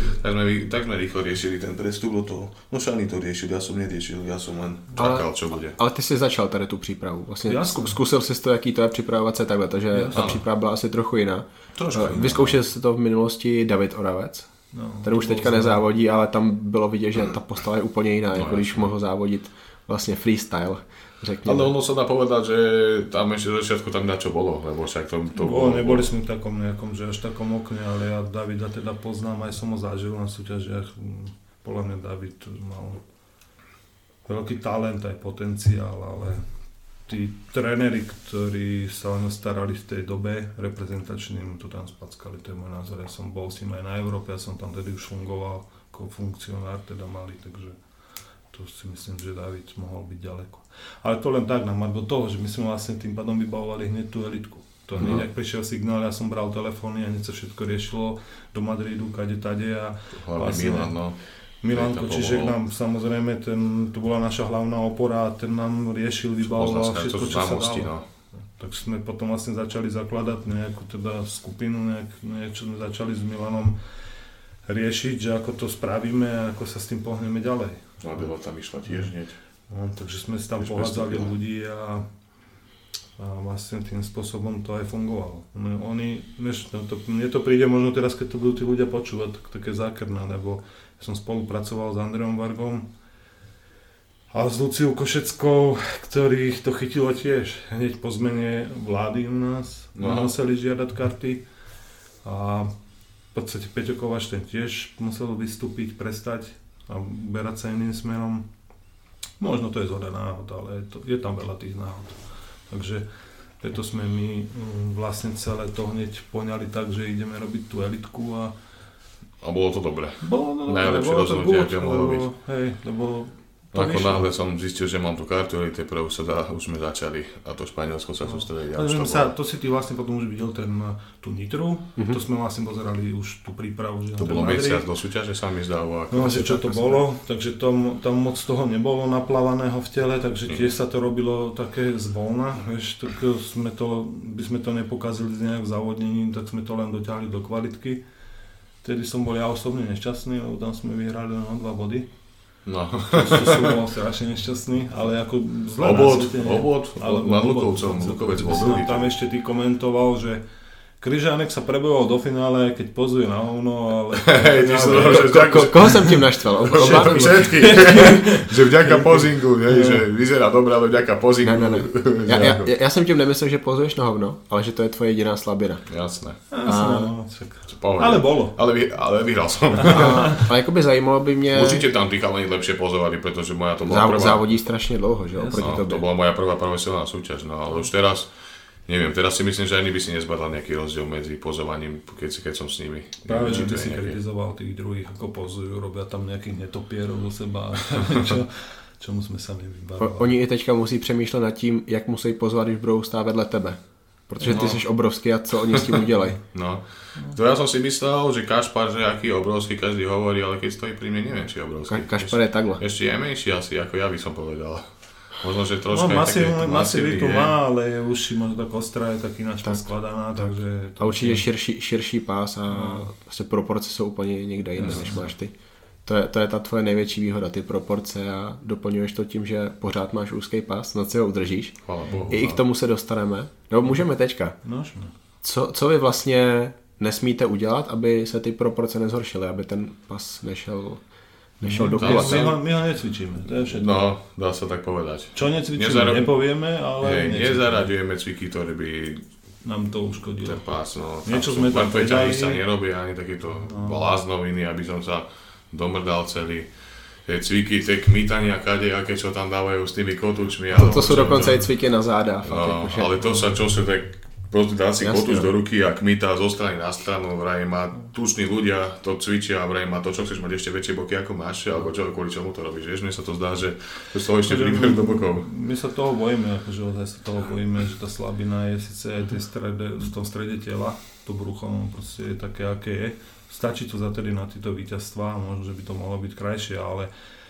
Tak sme rýchlo riešili ten prestup do toho. No Šani to riešil, ja som neriešil, ja som len čakal, čo bude. Ale ty si začal tady tu přípravu. Vlastně zkusil jsi to, jaký to je připravovat se takhle, takže ta příprava byla asi trochu jiná. Vyzkoušel jsi to v minulosti David Oravec. Ten už teďka nezávodí, ale tam bylo vidět, že ta postava je úplně jiná, jako když mohl závodit vlastně freestyle. Ale ono sa dá povedať, že tam ešte v začiatku tam čo bolo, lebo však to bolo. Neboli sme v takom nejakom, že až takom okne, ale ja Davida teda poznám, aj som ho zažil na súťažiach. Podľa mňa David mal veľký talent, aj potenciál, ale tí tréneri, ktorí sa len starali v tej dobe reprezentačným, to tam spackali, to je môj názor. Ja som bol s ním aj na Európe, ja som tam tedy už fungoval ako funkcionár, teda malý, takže to si myslím, že David mohol byť ďaleko. Ale to len tak nám do toho, že my sme vlastne tým pádom vybavovali hneď tú elitku. To hneď, ak prišiel signál, ja som bral telefóny a hneď sa všetko riešilo do Madridu, kade tade a vlastne Milanko, čiže nám samozrejme, to bola naša hlavná opora a ten nám riešil, vybavoval všetko, čo sa dalo. No. Tak sme potom vlastne začali zakladať nejakú teda skupinu, niečo sme začali s Milanom riešiť, že ako to spravíme a ako sa s tým pohneme ďalej. No a Bela tam išla tiež hneď. No, takže sme si tam pohádzali ľudí a vlastne tým spôsobom to aj fungovalo. Mne to príde možno teraz, keď to budú tí ľudia počúvať, také zákerné, lebo ja som spolupracoval s Andreom Vargom a s Luciou Košeckou, ktorých to chytilo tiež. Hneď po zmene vlády u nás museli žiadať karty a v podstate Peťo Kováč ten tiež musel vystúpiť, prestať a berať sa iným smerom. Možno to je zhoda náhod, ale je tam veľa tých náhod. Takže preto sme my vlastne celé to hneď poňali tak, že ideme robiť tú elitku a bolo to dobré. Bolo to najlepšie rozhodnutie, aké mohlo byť. Hej, lebo Ako náhle som zistil, že mám tú kartu Elite Pro, už sme začali a to Španielsko sa sústredí. To si ty vlastne potom už videl tú Nitru, to sme vlastne pozerali už tú prípravu. To bolo mesiac do súťaže, sa mi zdalo. No asi čo to bolo, takže tam moc toho nebolo naplávaného v tele, takže tiež sa to robilo také zvolna, vieš, tak by sme to nepokazili nejak v závodnení, tak sme to len dotiahli do kvalitky. Vtedy som bol ja osobne nešťastný, lebo tam sme vyhrali len o 2 body. No. To som bol strašne nešťastný, ale ako zle na svete. Obod nad Lukovcom, Lukovec bol druhý. Tam ešte ty komentoval, že Kryžánek sa prebojoval do finále, keď pozuje na hovno, ale... Koho som tým naštval? Všetky. Že vďaka pozingu, že vyzerá dobré, ale vďaka pozingu. Ne. Ja som tím nemyslel, že pozuješ na hovno, ale že to je tvoje jediná slabina. Jasné. Ale bolo. Ale vyhral som. Ale jakoby zajímalo by mě... Určite tam tí chalani lepšie pozovali, pretože moja to bola prvá... Závodí strašne dlouho, že? To bola moja prvá profesionálna súťaž, no ale už teraz... Neviem, teraz si myslím, že ani by si nezbadal nejaký rozdiel medzi pozovaním, keď som s nimi. Práve, že by si kritizoval tých druhých, ako pozujú, robia tam nejakých netopierov do seba, čemu sme sa nevybavili. Oni i teďka musí přemýšlet nad tím, jak musí pozvat, když budou stát vedle tebe. Protože ty jsi obrovský a co oni s tím udělají. No, to ja som si myslel, že Kašpar, že aký je obrovský, každý hovorí, ale keď stojí pri mne, neviem, či je obrovský. Kašpar je takhle. Ešte je menší asi, ako ja by som povedal. Možno, že troška masivitu má, ale už si možno tak ostrá je tak ináč poskladaná, takže... A určitě širší pás a vlastně proporce jsou úplně někde jinde, než máš ty. To je ta tvoje největší výhoda, ty proporce a doplňuješ to tím, že pořád máš úzký pás, na co ho udržíš. I k tomu se dostaneme. No můžeme teďka. Co vy vlastně nesmíte udělat, aby se ty proporce nezhoršily, aby ten pas nešel do kula. My ho necvičíme, to je všetko. No, dá sa tak povedať. Čo necvičíme, nepovieme, ale nezaraďujeme cviky, ktoré by nám to uškodilo. Ten pás, no. Niečo sme tam predali. Sa nerobia ani takéto bláznoviny, aby som sa domrdal celý. Tie cviky, tie kmítania, kadejaké, čo tam dávajú s tými kotúčmi. To sú dokonca aj cviky na záda. No, ale to sa čo sa tak... Proste dá si kotúč do ruky a kmýta zo strany na stranu, vraj má tuční ľudia, to cvičia a vraj má to, čo chceš mať ešte väčšie boky ako máš, alebo čo, kvôli čomu to robíš, vieš, mne sa to zdá, že z toho ešte príbeh do bokov. My sa toho bojíme, akože ozaj sa toho bojíme, že tá slabina je síce aj v tom strede tela, to brucho proste je také, aké je. Stačí to zatedy na tieto víťazstvá, možno, že by to mohlo byť krajšie, ale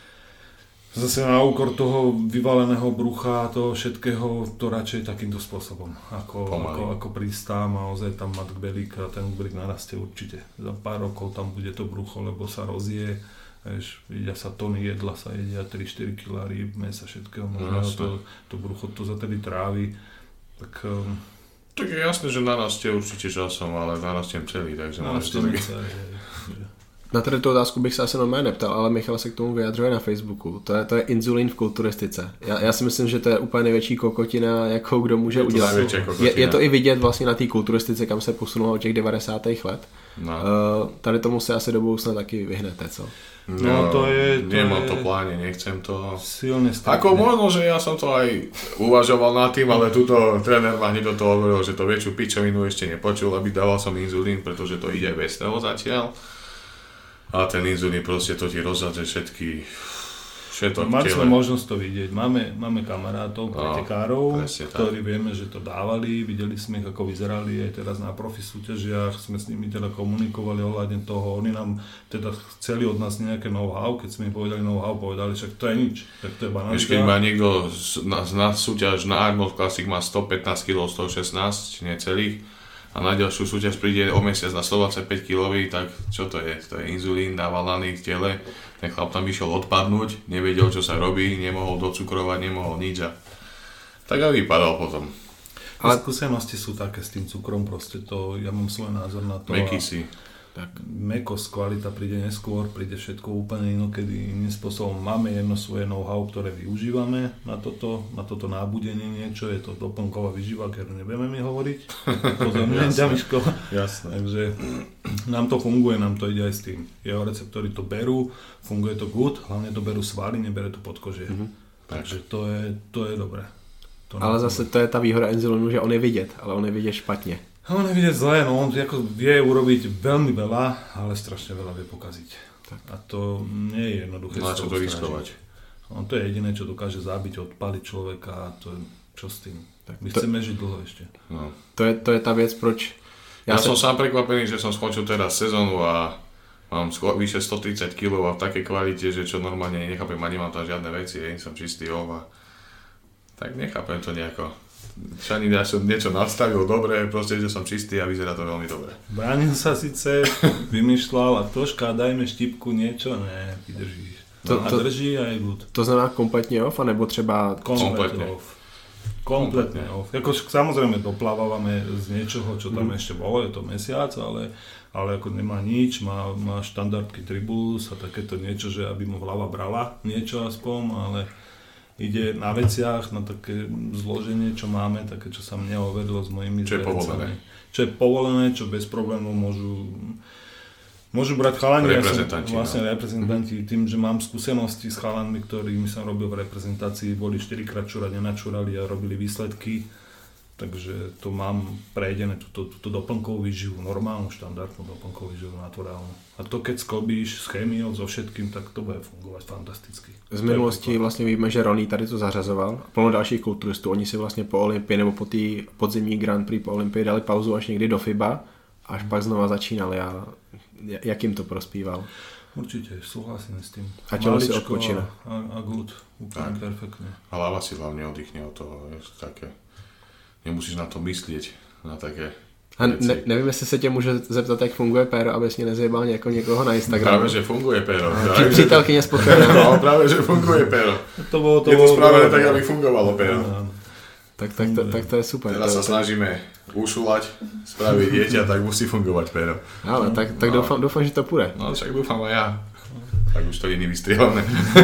zase na úkor toho vyvaleného brucha a toho všetkého, to radšej takýmto spôsobom, ako prísť tam a ozaj tam mať kbelík a ten kbelík narastie určite. Za pár rokov tam bude to brucho, lebo sa rozje, vieš, jedia sa tony jedla, sa jedia 3-4 kg rýb, mäsa, všetkého možného, to brucho to zatedy trávi, tak... Tak je jasné, že narastie určite časom, ale narastiem celý, takže môžeš to taky... Na tady tu otázku bych se asi normálně neptal, ale Michal se k tomu vyjadřuje na Facebooku. To je inzulín v kulturistice. Já si myslím, že to je úplně největší kokotina, jakou kdo může udělat. Je to i vidět vlastně na té kulturistice, kam se posunulo od těch 90. let. No. Tady tomu se asi do budoucna taky vyhnete, co? No to je... Nemám to pláne, nechcem to... Silne stavne. Ako možno, že ja som to aj uvažoval nad tým, ale tuto tréner ma hneď do toho hovoril, že to väčšiu pičovinu ešte nepočul, aby dával som inzulín, pretože to ide bez toho zatiaľ. A ten inzulín proste to ti rozhadže všetky Mali sme možnosť to vidieť. Máme kamarátov, pretekárov, ktorí vieme, že to dávali, videli sme ich, ako vyzerali aj teraz na profi súťažiach, sme s nimi teda komunikovali ohľadne toho, oni nám teda chceli od nás nejaké know-how, keď sme im povedali know-how, povedali, však to je nič, tak to je banánka. Keď má niekto na súťaž na Arnold Classic má 115 kg, 116, necelých, a na ďalšiu súťaž príde o mesiac na 125 kg, tak čo to je? To je inzulín, dáva lany v tele, ten chlap tam išiel odpadnúť, nevedel, čo sa robí, nemohol docukrovať, nemohol nič a tak aj vypadal potom. Ale skúsenosti sú také s tým cukrom, proste to, ja mám svoj názor na to. Mekisy. Tak mekosť, kvalita príde neskôr, príde všetko úplne inokedy iným spôsobom. Máme jedno svoje know-how, ktoré využívame na toto nábudenie niečo, je to doplnková výživa, ktorú nebudeme mi hovoriť. Pozorňujem ťa, Miško. Jasné. Takže nám to funguje, nám to ide aj s tým. Jeho receptory to berú, funguje to good, hlavne to berú svaly, nebere to podkožie. Takže to je dobré. Ale zase to je ta výhoda inzulínu, že on je vidět, ale on je vidět špatně. On je vidieť zle, no on ako vie urobiť veľmi veľa, ale strašne veľa vie pokaziť. Tak. A to nie je jednoduché. No a čo to riskovať? No, to je jediné, čo dokáže zabiť, odpaliť človeka a to je čo s tým. Tak my chceme žiť dlho ešte. No. To je tá vec, proč... Ja som sám prekvapený, že som skončil teraz sezónu a mám vyše 130 kg a v takej kvalite, že čo normálne nechápem, ani nemám tam žiadne veci, som čistý a tak nechápem to nejako. Šani, ja som niečo nastavil dobre, proste, že som čistý a vyzerá to veľmi dobre. Bránil sa síce, vymýšľal a troška dajme štipku niečo, ne, vydržíš. A drží a je good. To znamená kompletne off, anebo třeba... Kompletne off. Jako, samozrejme doplávame z niečoho, čo tam ešte bolo, je to mesiac, ale ako nemá nič, má štandardky tribulus a takéto niečo, že aby mu hlava brala niečo aspoň, ale ide na veciach, na také zloženie, čo máme, také, čo sa mne overilo s mojimi zverejcami. Čo je povolené, čo bez problémov môžu brať chalani, reprezentanti, tým, že mám skúsenosti s chalanmi, ktorými som robil v reprezentácii, boli 4-krát čúrať, nenačúrali a robili výsledky, takže to mám prejdené, túto doplnkovú výživu, normálnu, štandardnú doplnkovú výživu, naturálnu. A to keď sklobíš s chémiou, so všetkým, tak to bude fungovať fantasticky. Z minulosti vlastně víme, že Ronnie tady to zařazoval, plno dalších kulturistů, oni si vlastně po Olympii nebo po té podzimní Grand Prix po Olympii dali pauzu až někdy do FIBA, až pak znova začínali a jak jim to prospíval? Určite, súhlasím s tým. A telo si odpočína. A good, úplne perfektne. A hlava si hlavne oddychne od toho, také. Nemusíš na to myslieť, na také věci. Nevím, jestli se tě může zeptat, jak funguje Péro, abys mě nezjebal jako někoho na Instagramu. Práve, že funguje Péro. Přítelkyně spokojená. No, práve, že funguje Péro. Je to spravené tak, aby fungovalo Péro. Tak to je super. Teraz sa snažíme ušulať, spraviť dieťa, tak musí fungovať Péro. Ale tak doufám, že to půjde. No však dúfam aj ja. Tak už to iný vystrieľané.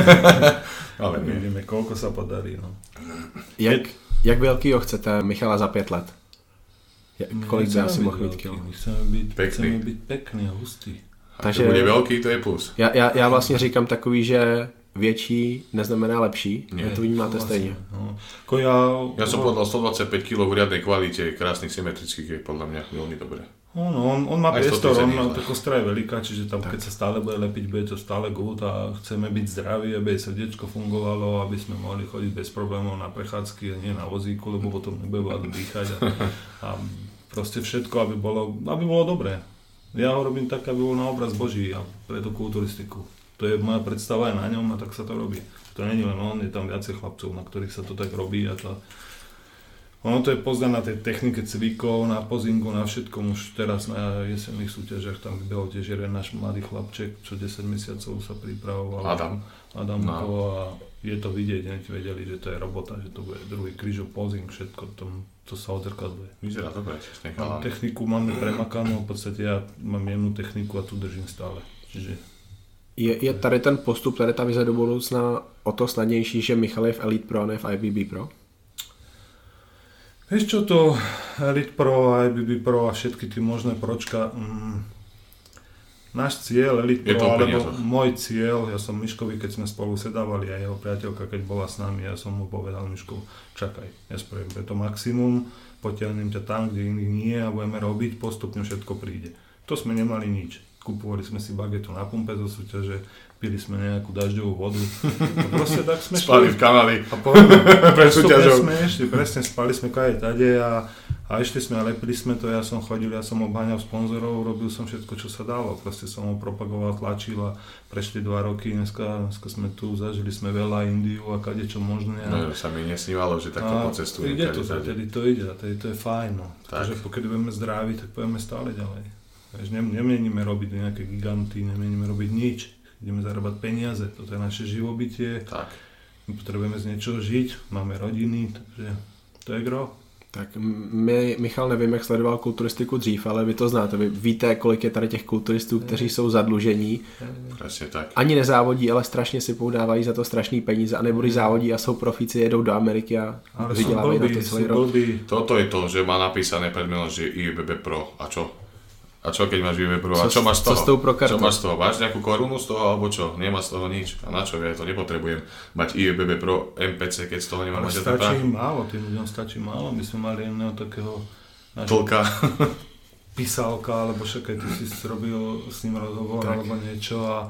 Ale vidíme, koľko sa podarí. No. Jak veľkýho chcete Michala za 5 let? Kolik by asi mohl být kilo? Chceme byť pekný a hustý. Takže bude veľký, to je plus. Já vlastně říkám takový, že větší neznamená lepší. Nie. To vnímáte stejně. No. Ja som povedal 125 kg v riadnej kvalite, krásnych symetrických je podľa mňa veľmi dobré. On má priestor, tá kostra je veľká, čiže tam keď sa stále bude lepiť, bude to stále good a chceme byť zdraví, aby srdiečko fungovalo, aby sme mohli chodiť bez problémov na prechádzky a nie na vozíku, lebo potom nebude vládu dýchať a proste všetko, aby bolo dobré. Ja ho robím tak, aby bol na obraz Boží a pre tú kulturistiku. To je moja predstava aj na ňom a tak sa to robí. To nie je len on, je tam viacej chlapcov, na ktorých sa to tak robí a to... Ono to je poznané na tej technike cvikov, na pozingu, na všetkom. Už teraz na jesenných súťažiach tam vybehol tiež jeden náš mladý chlapček, čo 10 mesiacov sa pripravoval. Adam no. A je to vidieť, hneď vedeli, že to je robota, že to bude druhý krížov, pozing, všetko to sa odzrkadluje. Vyzerá dobre, čiže chalán. Techniku máme premakanú, v podstate ja mám jednu techniku a tu držím stále. Čiže... Je tady ten postup, tady ta vize do budoucna o to snadnější, že Michal je v Elite Pro a ne v IBB Pro? Vieš čo, to Elite Pro, IBB Pro a všetky tie možné pročka, náš cieľ Elite Pro, alebo môj cieľ, ja som Miškovi, keď sme spolu sedávali a jeho priateľka, keď bola s nami, ja som mu povedal, Miško, čakaj, ja spravím preto maximum, potiahnem ťa tam, kde iných nie a budeme robiť, postupne všetko príde. To sme nemali nič. Kupovali sme si bagetu na pumpe zo súťaže, pili sme nejakú dažďovú vodu. A proste tak sme spali v kanáli. A pred súťažou. Sme išli, presne, spali sme kade tade a išli sme a lepili sme to. Ja som chodil, ja som obháňal sponzorov, robil som všetko, čo sa dalo. Proste som ho propagoval, tlačil a prešli 2 roky. Dneska sme tu, zažili sme veľa Indiu a kadečo možné. No, sa mi nesnívalo, že takto pocestujem. Ide to, tedy to ide a tedy to je fajn. No. Takže keď budeme zdraví, tak pôjdeme stále ďalej. Nemienime robiť nejaké giganty, nemienime robiť nič. Ideme zarábať peniaze, toto je naše živobytie. Tak. My potrebujeme z niečoho žiť, máme rodiny, takže to je gro. Tak Michal, nevím, jak sledoval kulturistiku dřív, ale vy to znáte. Vy víte, kolik je tady těch kulturistů, kteří jsou zadlužení. Presne tak. Ani nezávodí, ale strašně si poudávají za to strašný peníze. A nebo když závodí a jsou profíci, jedou do Ameriky a vydělávají na to celý rok. Toto je to, že má napísané pred menom, že IBB Pro. A čo? A čo keď máš IBB Pro? A čo máš z toho? Co s tou pro kartou? Čo máš z toho? Máš nejakú korunu z toho alebo čo? Nemá z toho nič. A na čo? Ja to nepotrebujem mať IBB Pro MPC, keď z toho nemám mať. Stačí málo, tým ľuďom stačí málo. My sme mali jedného takého tlka. Písalka, alebo však aj ty si robil s ním rozhovor alebo niečo a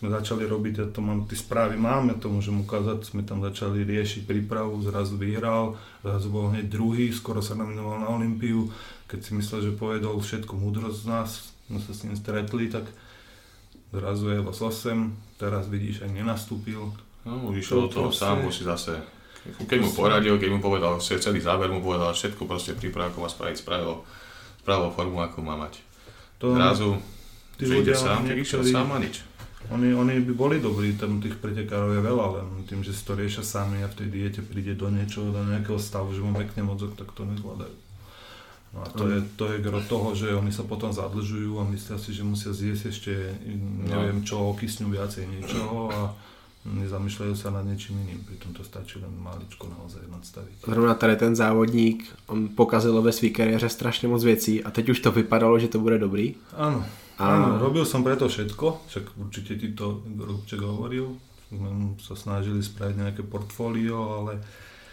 sme začali robiť, ja to mám, tie správy mám, ja to môžem ukázať, sme tam začali riešiť prípravu, zrazu vyhral, zrazu bol hneď druhý, skoro sa nominoval na Olympiu, keď si myslel, že povedol všetku múdrosť z nás, sme sa s ním stretli, tak zrazu je vás 8, teraz vidíš, aj nenastúpil. No, išiel do toho sám, musí zase, keď mu poradil, keď mu povedal, celý záver mu povedal všetko, proste prípravu, ako má spraviť, spravil formu, ako má mať. Zrazu, že ide sám, tak išiel sám a nič. Oni by boli dobrí, tam tých pretekárov je veľa, len tým, že si to riešia sami a v tej diete príde do niečoho, do nejakého stavu, že mu mekne mozog, tak to nezvládajú. No a to je gro toho, že oni sa potom zadlžujú a myslia si, že musia zjesť ešte neviem čo, okysňu viacej niečoho a nezamýšľajú sa nad niečím iným, pritom to stačí len maličko naozaj nadstaviť. Zrovna tady ten závodník, on pokazil ve své kariéře strašně moc věcí a teď už to vypadalo, že to bude dobrý. Áno, robil som preto všetko, však určite ti to Rúbček hovoril, sme sa snažili spraviť nejaké portfólio, ale...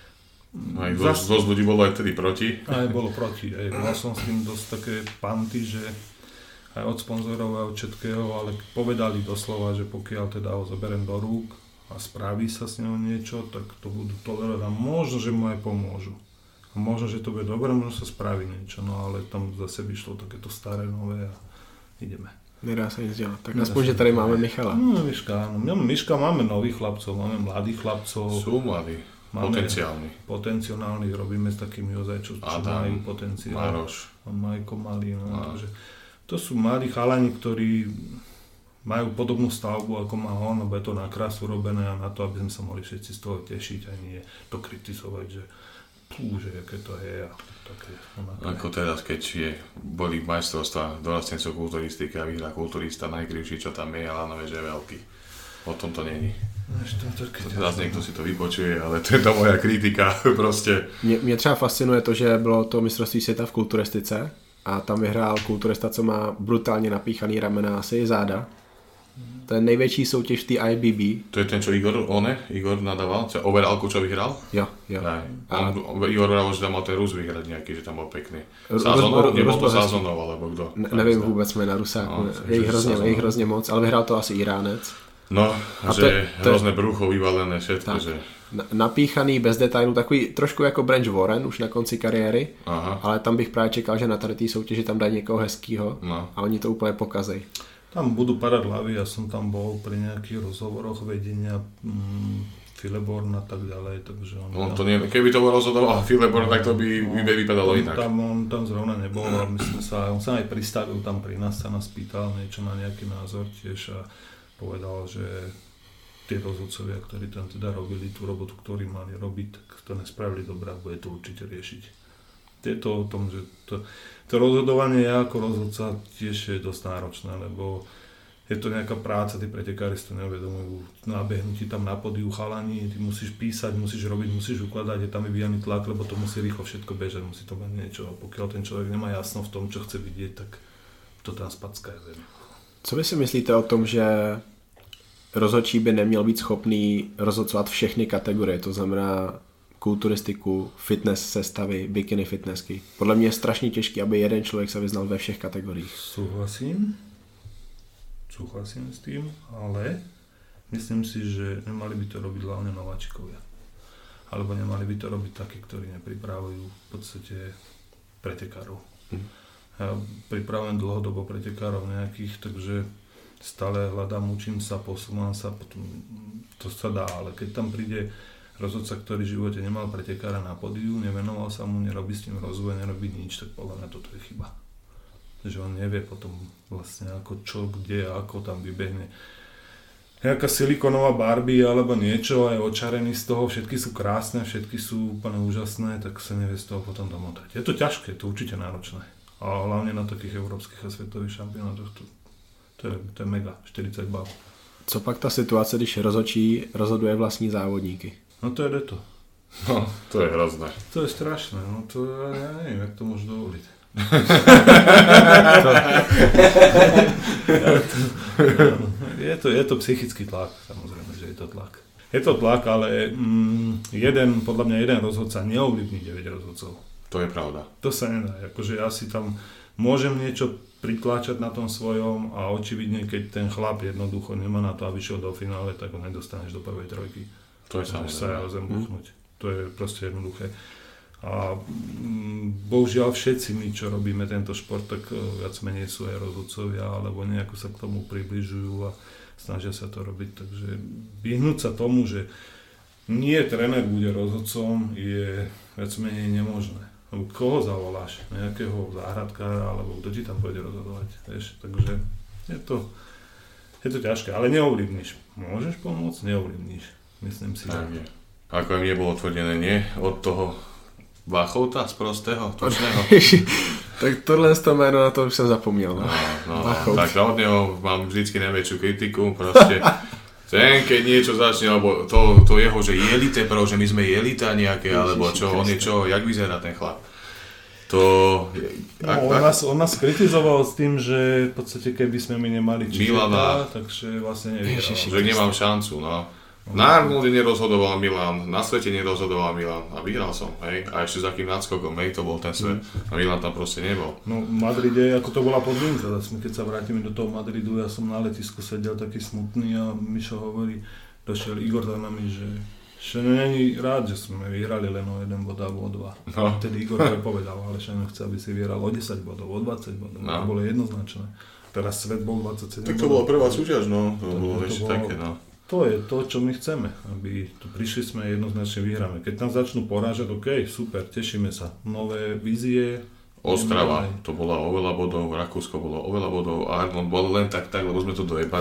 Aj dosť ľudí bolo aj vtedy proti. Aj bolo proti, mal som s tým dosť také panty, že aj od sponzorov, aj od všetkého, ale povedali doslova, že pokiaľ teda ho zoberiem do rúk a spraví sa s ňou niečo, tak to budú tolerovať a možno, že mu aj pomôžu. A možno, že to bude dobré, možno sa spraví niečo, no ale tam zase vyšlo takéto staré, nové a ideme. Nedá sa nic dělat. Tak aspoň, že tady máme Michala. No, Miška, áno. Miška, máme nových chlapcov, máme mladých chlapcov. Sú mladí, potenciálnych, robíme s takými ozaj, čo majú potenciál. Maroš. A Majko malý, no, takže to sú mladí chalani, ktorí majú podobnú stavbu, ako má on, lebo je to na krásu robené a na to, aby sme sa mohli všetci z toho tešiť a nie to kritizovať, že aké to je a také. Ako teraz, keď boli majstrovstvá dorastencov kulturistiky a vyhrá kulturista najkrivší, čo tam je, ale že je veľký. O tom to není. Teraz niekto si to vypočuje, ale to je to moja kritika, proste. Mě třeba fascinuje to, že bylo to mistrovství světa v kulturistice a tam vyhrál kulturista, co má brutálně napíchaný ramena, asi záda. To je největší soutěž v té IBB. To je ten, čo Igor nadával? Čo overallku, čo vyhral? Jo. Igor vral, že tam mal ten Rus vyhrať nejaký, že tam bol pekný. Sázonov? Nebol to Sázonov, alebo kto? Nevím vůbec jména Rusáku. Je jich hrozně moc, ale vyhrál to asi Iránec. No, a že je hrozné brucho vyvalené, všetko, tak, že... Napíchaný, bez detailů, takový trošku jako Branch Warren už na konci kariéry, ale tam bych právě čekal, že na tady té soutěži tam dají někoho hezkýho a oni to úplně pokazej. Tam budú padať hlavy, ja som tam bol pri nejakých rozhovoroch vedenia Fileborn a tak ďalej, takže on... to nie, keby to bol rozhodoval Fileborn, tak to by vypadalo inak. On tam zrovna nebol a on sa aj pristavil tam pri nás, sa nás pýtal niečo na nejaký názor tiež a povedal, že tie rozhodcovia, ktorí tam teda robili tú robotu, ktorú mali robiť, tak to nespravili dobré a bude to určite riešiť. Je to o tom, že to rozhodovanie ja ako rozhodca tiež je dosť náročné, lebo je to nejaká práca, tí pretekári si to neuvedomujú. Nabehnutí tam na podiu chalani, ty musíš písať, musíš robiť, musíš ukladať, je tam vyvíjaný tlak, lebo to musí rýchlo všetko bežať, musí to mať niečo. A pokiaľ ten človek nemá jasno v tom, čo chce vidieť, tak to tam spacká je. Co vy si myslíte o tom, že rozhodčí by neměl být schopný rozhodcovat všechny kategorie, to znamená kulturistiku, fitness sestavy, bikini fitnessky. Podle mě je strašně těžké, aby jeden člověk se vyznal ve všech kategoriích. Súhlasím s tým, ale myslím si, že nemali by to robiť hlavne nováčikovia. Alebo nemali by to robiť takí, ktorí nepripravujú v podstate pretekárov. Ja pripravujem dlhodobo pretekárov nejakých, takže stále hľadám, učím sa, posúvam sa, to sa dá, ale keď tam príde rozhodca, ktorý v živote nemal pretekára na pódiu, nevenoval sa mu, nerobí s tým rozvoj, nerobí nič, tak podľa mňa toto je chyba. Že on nevie potom vlastne ako čo, kde, ako tam vybehne. Nejaká silikonová Barbie alebo niečo, aj očarený z toho, všetky sú krásne, všetky sú úplne úžasné, tak sa nevie z toho potom domotať. Je to ťažké, je to určite náročné. A hlavne na takých európskych a svetových šampionátoch to je mega, 40 bál. Co pak ta situace, když rozhodčí rozhoduje vlastní závodníky? No to je to. No, to je hrozné. To je strašné, no to ja neviem, jak to môžu dovoliť. Je to psychický tlak, samozrejme, že je to tlak. Je to tlak, ale podľa mňa jeden rozhodca neovlivní 9 rozhodcov. To je pravda. To sa nedá, akože ja si tam môžem niečo pritláčať na tom svojom a očividne, keď ten chlap jednoducho nemá na to, aby šiel do finále, tak ho nedostaneš do prvej trojky. To je samozrejme. Sa o zem buchnúť. To je proste jednoduché. A bohužiaľ všetci my, čo robíme tento šport, tak viac menej sú aj rozhodcovia, alebo nejako sa k tomu približujú a snažia sa to robiť. Takže vyhnúť sa tomu, že nie tréner bude rozhodcom, je viac menej nemožné. Lebo koho zavoláš? Nejakého záhradkára, alebo kto ti tam pôjde rozhodovať? Vieš? Takže je to ťažké, ale neovlivníš. Môžeš pomôcť? Neovlivníš. Myslím si. Tak je. Ako im nebolo tvrdené, nie? Od toho Váchovta z prostého, točného. Tak tohle z toho jméno, na to už jsem zapomněl. No, tak od neho mám vždycky najväčšiu kritiku, proste. Ten, keď niečo začne, alebo to jeho, že jelite, že my sme jelita nejaké, alebo čo, on je čo, jak vyzerá ten chlap. On nás kritizoval s tým, že v podstate keby sme my nemali Milana, takže vlastne nevyhral. Že nemám šancu, no. Na Arnolde nerozhodoval Milan, na svete nerozhodoval Milan a vyhral som, hej. A ešte za akým náskokom, hej, to bol ten svet. A Milan tam proste nebol. No v Madride, ako to bola podmienka, keď sa vrátime do toho Madridu, ja som na letisku sedel taký smutný a Mišo hovorí, došiel Igor za nami, že není rád, že sme vyhrali len o 1 bod alebo o 2. No. Vtedy Igor to povedal, ale Šeno chce, aby si vyhral o 10 bodov, o 20 bodov, to bolo jednoznačné. Teraz svet bol 27 bodov. Tak to bola prvá súťaž, no, to bolo ešte také, no. To je to, čo my chceme, aby tu prišli sme jednoznačne vyhráme. Keď tam začnú porážať, OK, super, tešíme sa. Nové vízie. Ostrava, to bola oveľa bodov, Rakúsko bolo oveľa bodov, Arnold bol len tak, lebo sme to dojebali.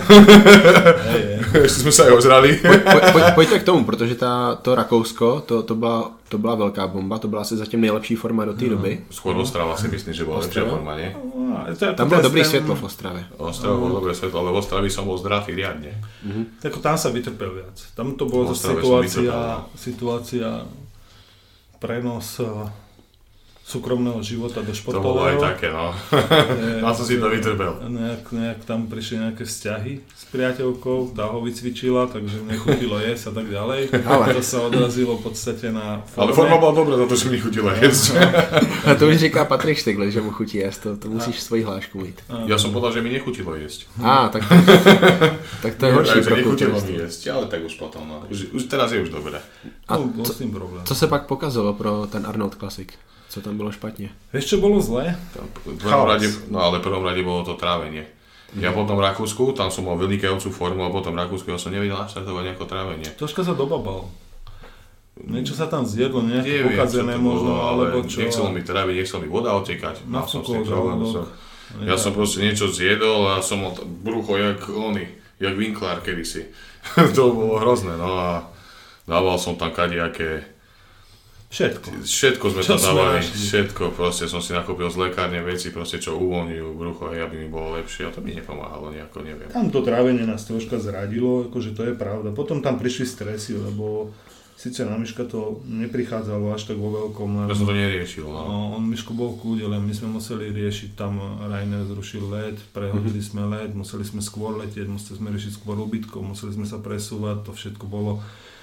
Ešte sme sa aj ozrali. Pojďte k tomu, protože to Rakousko, to byla velká bomba, to byla asi zatím nejlepší forma do té doby. Skôr Ostrava si myslím, že bola lepšia forma, nie? Tam bylo dobrý světlo v Ostravě. Ostrava bolo dobré svetlo, ale v Ostravi som bol zdravý riadne. Tako tam sa vytrpel viac. Tam to bolo situácia prenos súkromného života do športového. To bolo aj také, no. Na som si to vytrpel. Nejak tam prišli nejaké vzťahy s priateľkou, tá ho vycvičila, takže nechutilo jesť a tak ďalej. Ale to sa odrazilo v podstate na forme. Ale forma bola dobrá za to, že mi nechutilo jesť. A to už říká Patrik Štegl, že mu chutí jesť, to musíš svoji hlášku mít. Ja som povedal, že mi nechutilo jesť. Tak to je horší. Takže nechutilo mi jesť, ale tak už potom, no. Už teraz je už dobré. A co se pak pokazalo pro ten Arnold Classic? Co tam bylo špatne? Vieš, čo bolo zlé? V prvom rade bolo to trávenie. Ja potom v Rakúsku, tam som mal vynikajúcu formu a potom v Rakúsku ja som nevedel naštartovať nejako trávenie. Troška sa dobabal. Niečo sa tam zjedlo, nejaké pokazené možno, alebo čo. Nechcelo mi tráviť, nechcelo mi voda otekať. Ja som proste niečo zjedol a som mal brucho jak Winkler kedysi. To bolo hrozné, no a dával som tam kadejaké. Všetko sme tam dávali, všetko, proste som si nakúpil z lekárne veci, proste čo uvoľňujú brucho, aby mi bolo lepšie a to mi nepomáhalo nejako, neviem. Tam to trávenie nás troška zradilo, akože to je pravda. Potom tam prišli stresy, lebo síce na Miška to neprichádzalo až tak vo veľkom. Ja som to neriešil, no. On Miško bol v kúde, len my sme museli riešiť, tam Rainer zrušil let, prehodili sme let, museli sme skôr letieť, museli sme riešiť skôr ubytkov, museli sme sa presúvať, to všetko bolo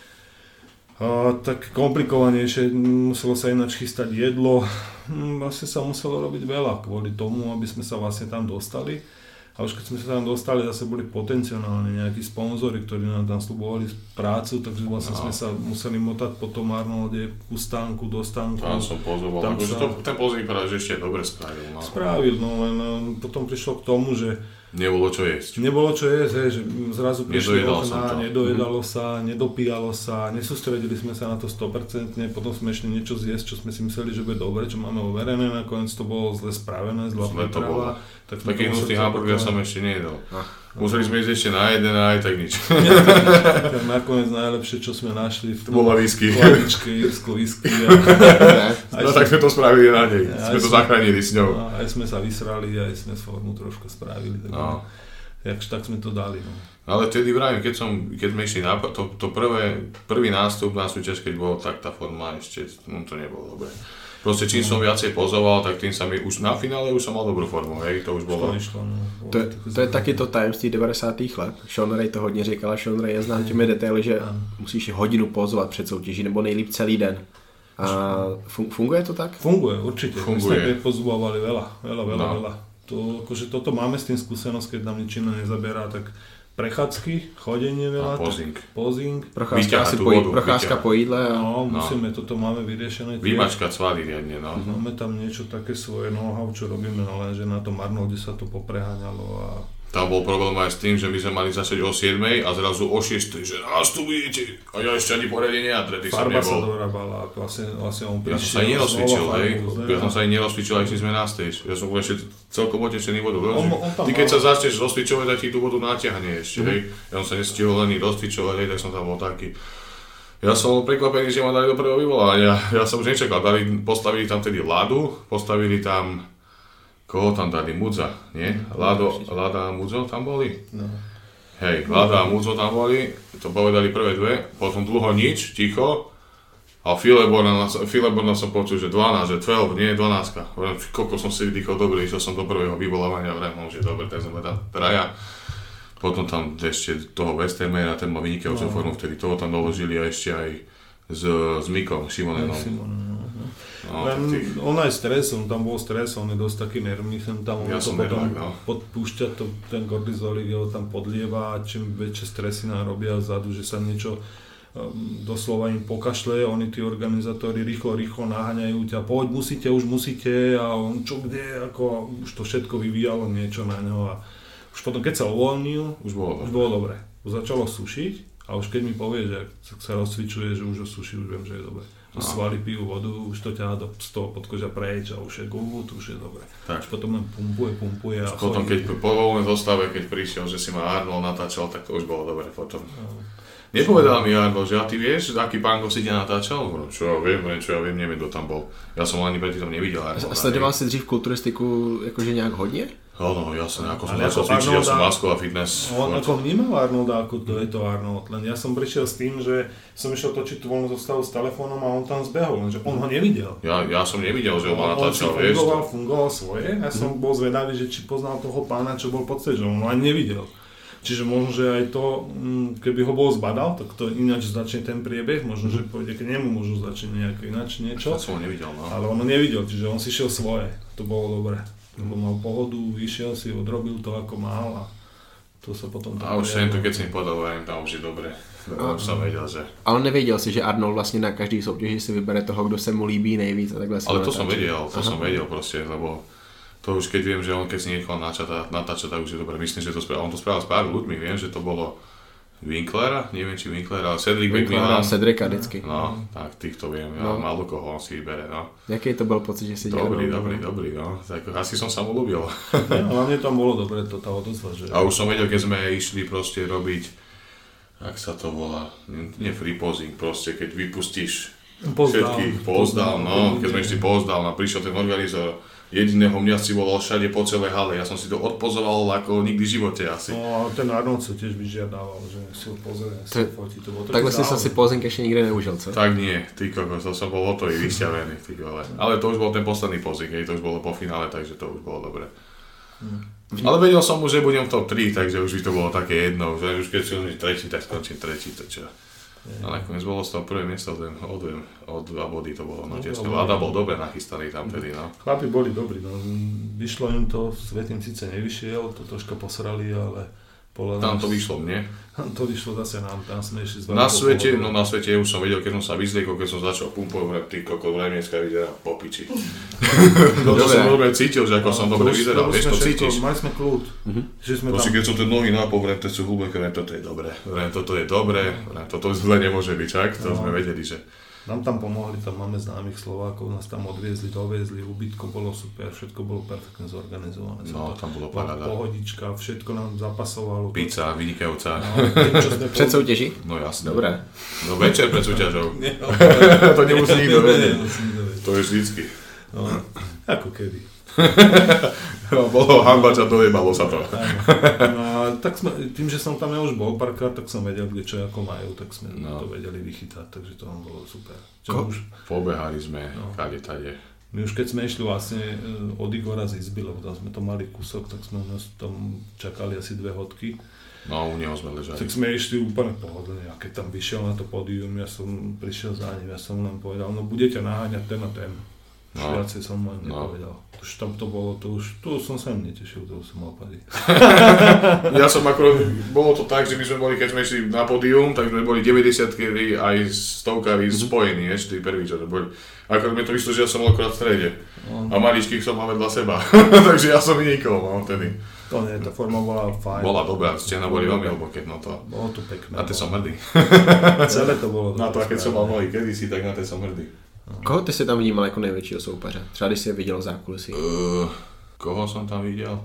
tak komplikovanejšie, muselo sa ináč chystať jedlo, vlastne sa muselo robiť veľa kvôli tomu, aby sme sa vlastne tam dostali. A už keď sme sa tam dostali, zase boli potenciálne nejakí sponzori, ktorí nám tam slubovali prácu, takže vlastne sme sa museli motať po tom Arnolde ku stánku, do stánku. Tam som pozoval, akože ten pozor vypadá, že ešte dobre spravil. Spravil, no len potom prišlo k tomu, že nebolo čo jesť. Že zrazu prišli okná, nedojedalo sa, nedopíjalo sa, nesústredili sme sa na to 100%, potom sme ešte niečo zjesť, čo sme si mysleli, že bude dobre, čo máme overené, nakoniec to bolo zle spravené, zlá príprava. Taký hnusný hamburger som ešte nejedol. Museli sme ísť ešte na jeden a aj tak nič. Tak nakoniec najlepšie, čo sme našli v chladičke, írsko whisky. No tak sme to spravili na nej, sme to zachránili s ňou. Aj sme sa vysrali, aj sme formu trošku spravili. Tak sme to dali. No. Ale vtedy vravím, keď sme išli na prvý nástup na súťaž, keď bolo, tak tá forma ešte, to nebolo dobre. Proste čím som viacej pozoval, tak tým sa mi už na finále už som mal dobrú formu, hej, to už bolo. To je taky to tajemství 90. let. Sean Ray to hodně říkal a Sean Ray je znám těmi detaily, že musíš hodinu pozovat před soutěží, nebo nejlíp celý den. A funguje to tak? Funguje, určite. Funguje. My sme pozúvali veľa. To, akože toto máme s tým skúsenosť, keď nám nič iné nezaberá, tak prechádzky, chodenie veľa. A Posing. Procházka po jídle. Musíme, toto máme vyriešené. Vymačkať svaly riadne, no. Máme tam niečo také svoje know-how, čo robíme, lenže na tom Arnolde sa to popreháňalo a... Tam bol problém aj s tým, že my sme mali začať o 7 a zrazu o 6, že nás tu budete. A ja ešte ani poriadne neatretý som nebol. Farba sa dorábala, vlastne on prišiel. Ja som sa aj nerozcvičil, hej. Ja som sa aj nerozcvičil, aj keď sme na stage. Ja som ešte celkom otečený vodu. Ty keď sa začneš rozcvičovať, tak ti tú vodu natiahne ešte, hej. Ja som sa nestihol len rozcvičovať, hej, tak som tam bol taký. Ja som bol prekvapený, že ma dali do prvého vyvolania. Ja som už nečakal, postavili tam tedy Ladu, postavili tam... Koho tam dali? Mudza, nie? Lada a Mudzo tam boli? No. Hej, Lada a Mudzo tam boli, to povedali prvé dve, potom dlho nič, ticho. A Fileborna som počul, že 12, že 12, nie 12. Koľko som si vydýchol dobre, išiel som do prvého vyvolávania, vremom, že dobre, tak sme tam traja. Potom tam ešte toho Westermera, ten mal vynikajúcu formu, vtedy toho tam doložili a ešte aj s Mikom Šimonenom. On aj stres, on tam bol stres, on je dosť taký nervný, tam on to potom podpúšťa, ten kortizolík ho tam podlieva a čím väčšie stresy nám robia vzadu, že sa niečo doslova im pokašle, oni tí organizátori rýchlo naháňajú ťa, poď, už musíte a on čo kde, ako už to všetko vyvíjalo niečo na ňo a už potom keď sa uvoľnil, už bolo dobre. Už začalo sušiť a už keď mi povie, že sa rozcvičuje, že už ho suší, už viem, že je dobre. Svaly pijú vodu, už to ťahá z toho podkožia preč a už je good, už je dobre. Už potom len pumpuje a potom keď po voľnej zostave, keď prišiel, že si ma Arnold natáčal, tak to už bolo dobre potom. Nepovedal mi Arnold, že a ty vieš, aký pánko si ťa natáčal? Čo ja viem, neviem, kto tam bol. Ja som ani predtým nevidel Arnold. A sledoval si dřív kulturistiku jakože nějak hodně? Áno, jasne, ako som začal cvičiť, ja som Masko a fitness. On ako vnímal Arnolda, ako to je to Arnold, len ja som prišiel s tým, že som išiel točiť tú voľnú zostavu s telefónom a on tam zbehol, lenže on ho nevidel. Ja som nevidel, že ho ma natáčal, vieš. On fungoval svoje, ja som bol zvedavý, že či poznal toho pána, čo bol pod stageom, on ho ani nevidel. Čiže možno, že aj to, keby ho bol zbadal, tak to ináč začne ten priebeh, možno, že pôjde k nemu, možno začne nejako ináč niečo. Ja som ho nevidel, no. Ale on ho nevidel, čiže on si šiel svoje, to bolo dobre. Lebo mal pohodu, išiel si, odrobil to ako mal a to sa potom... A už sem to, keď si mi podal, tam už je dobre. Už som vedel, že... Ale nevěděl si, že Arnold vlastně na každý soutěži si vybere toho, kdo se mu líbí nejvíc a takhle. Ale to som vedel proste, lebo to už keď viem, že on keď si nechal natáčať, tak už je dobre. Myslím, že to spravil. On to spravil s pár ľuďmi, viem, že to bolo Winklera, neviem či Winklera, ale Cedric McMillan. Cedrica vždycky. No, tak týchto viem, ja málo koho on si vybere, no. Jaký to bol pocit, že si dělal? Dobrý, no. Tak asi som sa mu ľúbil. Hlavne tam bolo dobre to tá odozva, že... A už som vedel, keď sme išli proste robiť, jak sa to volá, nie free posing, proste keď vypustíš všetkých pozdal, no, keď sme išli pozdal, a prišiel ten organizátor, jediného mňa si volal všade po celej hale, ja som si to odpozoval ako nikdy v živote asi. No a ten Arnold sa tiež vyžiadával, že si ho pozrie, si fotí, to bolo takhle si sa si posing ešte nikdy neužil, co? Tak nie, ty kokos, to som bol hotový, vyšťavený, ty vole. Ale to už bol ten posledný posing, to už bolo po finále, takže to už bolo dobre. Ale vedel som už, že budem v top 3, takže už by to bolo také jedno, že už keď som tretí, tak skončím tretí, to čo. A nakoniec bolo z toho prvé miesto o 2 body to bolo, no tesne. Lada bol dobre nachystaný tam tedy, no. Chlapi boli dobrí, no. Vyšlo im to, svet im síce nevyšiel, to troška posrali, ale... Tam to vyšlo mne. To vyšlo zase nám, tam sme išli z na svete už som vedel, keď som sa vyzliekol, keď som začal pumpovať, ty kokos, vremieska vyzerá po piči. To som dobre cítil, že ako som dobre vyzeral, vieš, to cítiš. Mali sme kľud. Proste keď som tie nohy napol, to sú hlboké, toto je dobré, toto zle nemôže byť, čak, to sme vedeli, že... Nám tam pomohli, tam máme známych Slovákov, nás tam doviezli, ubytko bolo super, všetko bolo perfektne zorganizované. No, tam bolo paráda. Pohodička, všetko nám zapasovalo. Pizza, vynikajúca. Před soutěží? No jasne. Dobré. No večer pred súťažou. To nemusí nikto vedieť. To je vždycky. No, ako kedy. No, bolo hanba, čo dojebalo sa to. No a tak tým, že som tam ja už bol párkrát, tak som vedel, kde čo ako majú, tak sme to vedeli vychytať, takže to nám bolo super. Pobehali sme, kade tade. My už keď sme išli vlastne od Igora z izby, lebo tam sme to mali kúsok, tak sme nás tam čakali asi 2 hodky. No, u neho sme ležali. Tak sme išli úplne pohodlne a keď tam vyšiel na to pódium, ja som prišiel za ním, ja som len povedal, no budete naháňať ten a ten. Už viacej som len nepovedal. Už tam to bolo, tu som sa im netešil, to už som mal pady. Ja som akorát, bolo to tak, že my sme boli, keď sme išli na pódium, tak sme boli 90-ky aj 100-kari spojení, ešte tí prví, čo to boli. Akorát mi to vyšlo, že ja som bol akorát v strede. A maličkých som mal vedľa seba, takže ja som vynikol, mám vtedy. To nie, tá forma bola fajn. Bola dobrá, stena boli veľmi hlboké, no to. Bolo to pekné. Na to som hrdý. Celé to bolo. Na to, a keď som mal malý kedysi, tak na to som hrdý. Koho ty si tam vnímal jako největšího soupeře? Třeba když jsi je viděl v zákulisí. Koho som tam videl?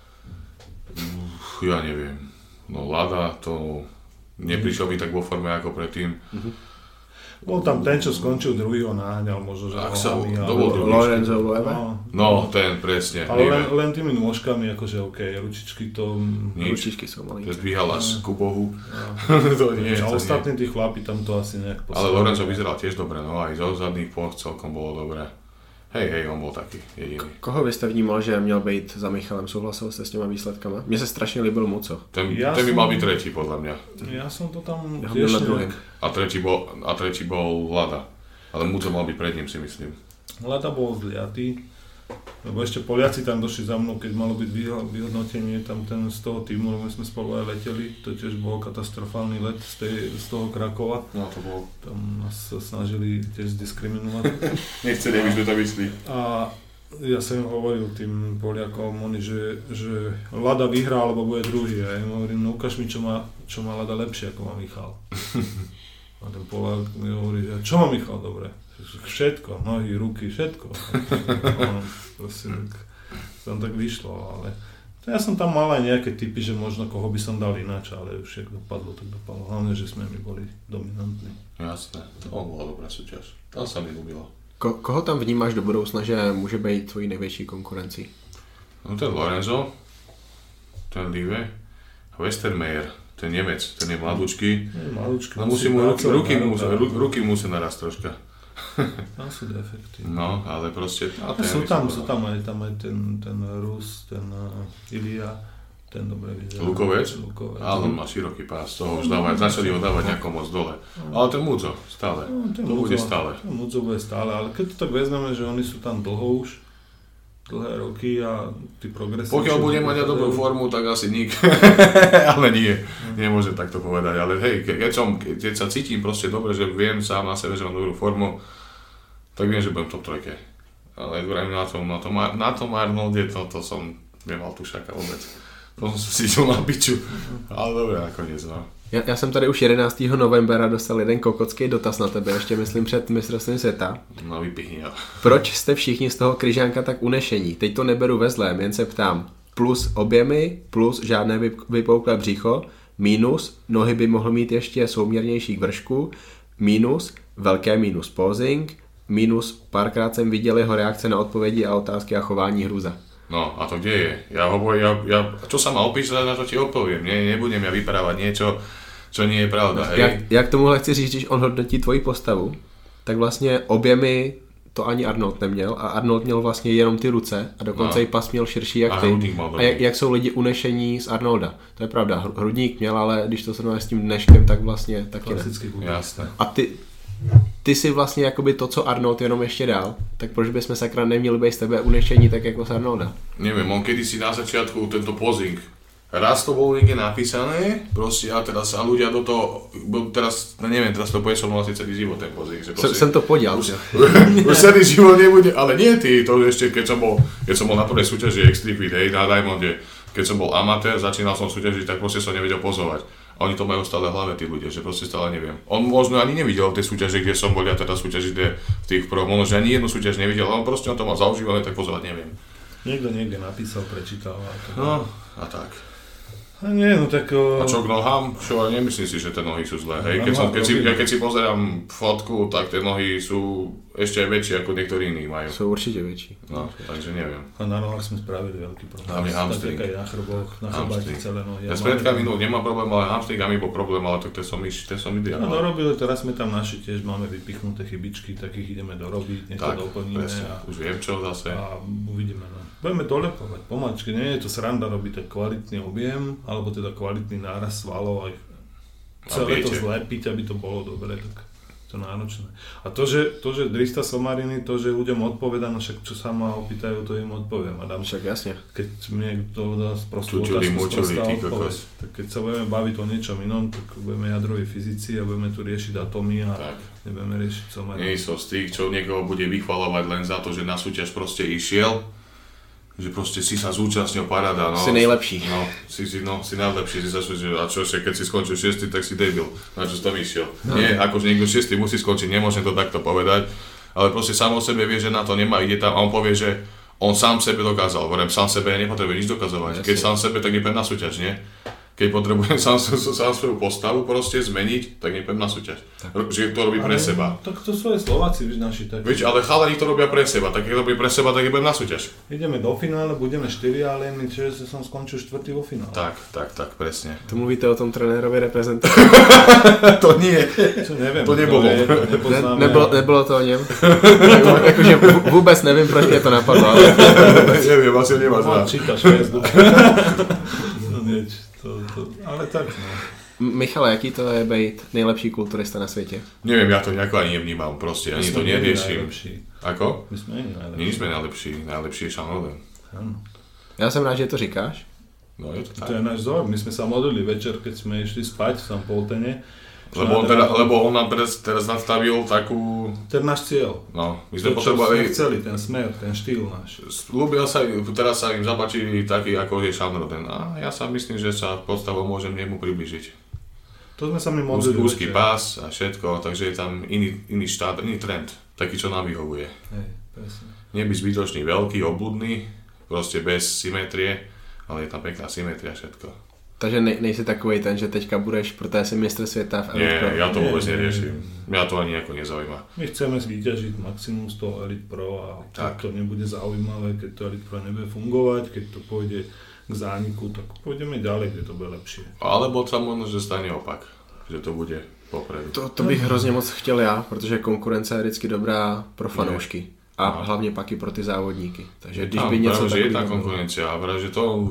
Ja neviem. No Lada to neprišiel by tak vo forme ako predtým. Bol tam ten, čo skončil druhý, ho naháňal možno, že to nohami. bol druhý. Lorenzo Loewe? No, ten presne. Ale len tými nôžkami, akože okej, ručičky to... Ručičky sú malé. To zdvíhala z Kubohu. To nie, a to ostatní tí chlapi tam to asi nejak ale Lorenzo vyzeral tiež dobre, no aj zo zadných ploch celkom bolo dobré. Hej, on bol taký jediný. Koho vy jste vnímal, že měl být za Michalem? Souhlasil jste s těma výsledkama? Mně se strašně líbil Muco. Ten by mal byť tretí, podľa mňa. Ja som to tam Ja tiež nejak... A tretí bol Lada. Ale Muco mal byť pred ním, si myslím. Lada bol zliatý, lebo ešte Poliaci tam došli za mnou, keď malo byť vyhodnotenie tam ten z toho týmu, lebo my sme spolu aj leteli, to tiež bol katastrofálny let z toho Krakova. No to bol. Tam nás sa snažili tiež zdiskriminovať. Nechceli, aby sme to vyšli. A ja som im hovoril tým Poliakom, že Lada vyhrá, alebo bude druhý. A ja im hovorím, no ukáž mi, čo má Lada lepšie, ako má Michal. A ten Poliak mi hovorí, že čo má Michal dobre? Všetko, nohy, ruky, všetko. Proste tam tak vyšlo, ale ja som tam mal aj nejaké typy, že možno koho by som dal ináč, ale už jak dopadlo, tak dopadlo. Hlavne, že sme my boli dominantní. Jasné, to bola dobrá súťaž. Tam sa mi ľúbilo. Koho tam vnímáš do budoucna, že může být tvojí největší konkurencí? No ten Lorenzo, ten Live, Westermeier, ten Nemec, ten je mladúčky. No ruky musí naraz troška. Tam sú defekty. No, ale proste... Sú tam aj ten Rus, ten Ilia, ten dobre vyzerá. Lukovec? Ale on má široký pás, toho už začali ho dávať nejako moc dole. Ale ten Mudzo, stále. To bude stále. Ten Mudzo bude stále, ale keď to tak vezmeme, že oni sú tam dlho už, dlhé roky a tí progresívne... Pokiaľ bude mať dobrú formu, tak asi nik. Ale nie, nemôžem takto povedať. Ale hej, keď sa cítim proste dobre, že viem sám na sebe, že mám dobrú formu, tak viem, že budem top 3. Ale na tom Arnolde to som nemal tušaka vôbec. To som si cítil na piču. Ale dobre, nakoniec, no. Já jsem tady už 11. novembra dostal jeden kokocký dotaz na tebe, ještě myslím před mistrovstvím světa. No vypíchni ho. Proč jste všichni z toho Kryžánka tak unešení? Teď to neberu ve zlém, jen se ptám. Plus objemy, plus žádné vypouklé břicho, minus, nohy by mohl mít ještě souměrnější k vršku, minus, velké minus posing, minus, párkrát jsem viděl jeho reakce na odpovědi a otázky a chování hruza. No a to kde je? Čo sa ma opísať, na to ti odpoviem. Nebudem ja vyprávať niečo, čo nie je pravda. Hej? Jak tomuhle chci říct, když on hodnotí tvoji postavu, tak vlastně objemy to ani Arnold neměl a Arnold měl vlastně jenom ty ruce a dokonce i pas měl širší jak ty. A jak jsou lidi unešení z Arnolda. To je pravda, hrudník měl, ale když to srovnáš s tím dneškem, tak vlastně taky ne. Jasné. A ty si vlastně jakoby to, co Arnold jenom ještě dál, tak proč bychom sakra neměli být z tebe unešení tak jako z Arnolda? Neviem, on kedysi na začiatku tento posing, raz to bolo niekde napísané, proste a teraz a ľudia do toho, teraz to bude som asi celý život ten posing. Jsem to podělal. Už celý život nebude, ale nie ty, to ešte keď som bol na prvej súťaži X-Tripit, hej, na Diamonde, keď som bol amatér, začínal som súťažiť, tak proste som nevedel pozovať. A oni to majú stále v hlave, tí ľudia, že proste stále neviem. On možno ani nevidel tie súťaže, kde som bol, ja teda súťaži v tých pro, možno, že ani jednu súťaž nevidel, ale proste on to mal zaužívané, tak pozovať neviem. Niekto niekde napísal, prečítal. No, a tak. Nie, no tak... A čo k nohám? Čo, nemyslím si, že tie nohy sú zlé. Hej, keď si pozerám fotku, tak tie nohy sú ešte aj väčšie ako niektorí iní majú. Sú určite väčší. No, takže neviem. A na nohách sme spravili veľký problém. Hlavne hamstring. Tak aj na chrbách, na chrbáti celé nohy. Ja s predkami nemám problém, ale hamstringami bol problém, ale tak to som ideál. No dorobili, teraz sme tam naši tiež máme vypichnuté chybičky, tak ich ideme dorobiť, nech to doplníme. Už viem čo zase. A uvidíme. No. Budeme dolepovať pomačky, nie je to sranda robiť tak kvalitný objem, alebo teda kvalitný náraz svalov aj celé to zlepiť, aby to bolo dobre, tak to náročné. A to, že Drista Somariny, to, že ľuďom odpoveda, no však čo sa ma opýtajú, to im odpoviem. Adam, však jasne. Keď mi niekto dá sprostú otázku, sprostá odpoveď, tak keď sa budeme baviť o niečom inom, tak budeme jadroví fyzici a budeme tu riešiť atomy a nebudeme riešiť Somariny. Nie som z tých, čo niekoho bude vychvalovať len za to, že na súťaž proste išiel, že proste si sa zúčastnil paráda, no. Si najlepší. No, si najlepší, si sa súčasnil. A čo, keď si skončil 6, tak si debil. Na čo si tam išiel? No. Nie, akože niekto 6 musí skončiť, nemôžem to takto povedať. Ale proste sám o sebe vie, že na to nemá, ide tam a on povie, že on sám sebe dokázal. Hovorím, sám sebe nepotrebuje nič dokazovať. Keď sám sebe, tak nepôjdem na súťaž, nie? Keď potrebujem sám svoju postavu proste zmeniť, tak nepôjdem na súťaž. Že to robí pre seba. Tak to sú aj Slováci, víš, naši takí. Víš, ale chalani to robia pre seba, tak keď robí pre seba, tak nepôjdem na súťaž. Ideme do finále, budeme 4, ale my čiže som skončil 4 vo finále. Tak, presne. To mluvíte o tom trenérovi reprezentantu? To nie. Čo neviem. To nebolo. Nebylo to o něm. Jakože vůbec nevím, proč mě to napadlo. Ale... Neviem, asi nemáš rád. Čítaš Facebook. Ale tak, no. Michale, jaký to je být nejlepší kulturista na světě? Neviem, ja to nejako ani nevnímam, proste, ani to neriešim. Ako? My sme najlepší. My sme najlepší je Šanoven. Já jsem rád, že to říkáš. No je to tak. To je náš vzor, my sme sa modlili večer, keď sme išli spať v Poltene. Lebo on nám teraz nastavil takú... To je náš cieľ. No, my sme potrebovali... chceli, ten smer, ten štýl náš. Ľúbil sa, teraz sa im zapáči taký, ako je Šanroden. A ja sa myslím, že sa postavou môžem nemu približiť. To sme sa mi modlili úzky pás a všetko, takže je tam iný štát, iný trend. Taký, čo nám vyhovuje. Hej, presne. Nebyť zbytočný, veľký, obludný, proste bez symetrie, ale je tam pekná symetria všetko. Takže nejsi takovej ten, že teďka budeš, protože jsi mistr světa v Elite Pro. Nie, ja to vôbec neriešim. Mňa to ani nejako nezaujíma. My chceme vyťažiť maximum z toho Elite Pro a keď to nebude zaujímavé, keď to Elite Pro nebude fungovať, keď to pôjde k zániku, tak pôjdeme ďalej, kde to bude lepšie. Alebo sa možno, že stane opak, že to bude popredu. To bych hrozně moc chtěl já, protože konkurence je vždycky dobrá pro fanoušky. A hlavně pak i pro ty závodníky. Takže když by něco takového... je tá konkurencia a práve, že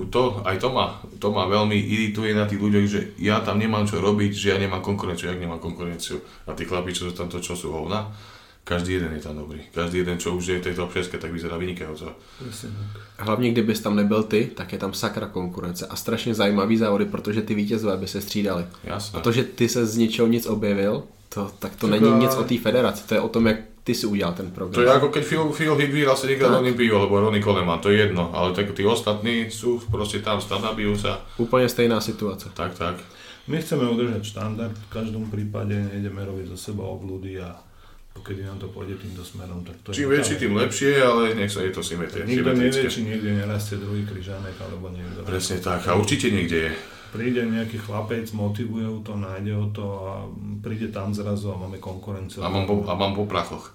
to ma veľmi irituje na tých ľuďoch, že ja tam nemám čo robiť, že ja nemám konkurenciu, jak nemám konkurenciu. A tí chlapí, čo sú tam to, čo sú hovna, každý jeden je tam dobrý. Každý jeden, čo už je v tej top 6, tak vyzerá vynikajúco. Hlavně kdybys tam nebyl ty, tak je tam sakra konkurence a strašně zajímavý závody, protože ty vítězové by se střídali. Jasné. A to, že ty se z ničeho nic objevil, tak to není nic o té federaci, to je o tom, jak ty si udělal ten program. To je ako keď Phil Hick vyhral 7-krát Olympiu, alebo Ronnie Coleman, to je jedno, ale tak tí ostatní sú proste tam, nabijú sa. Úplne stejná situace. Tak. My chceme udržať štandard, v každom prípade nejdeme robiť zo seba obľudy a pokiaľ nám to pôjde týmto smerom, tak to je... Čím väčší, tým lepšie, ale nech sa je to symetrické. Nikto nevie, či niekde nerastie druhý križánek, alebo niekto... Presne tak, a určite niekde je. Príde nejaký chlapec, motivuje ho to, nájde ho to a príde tam zrazu a máme konkurenciu. A mám po prachoch.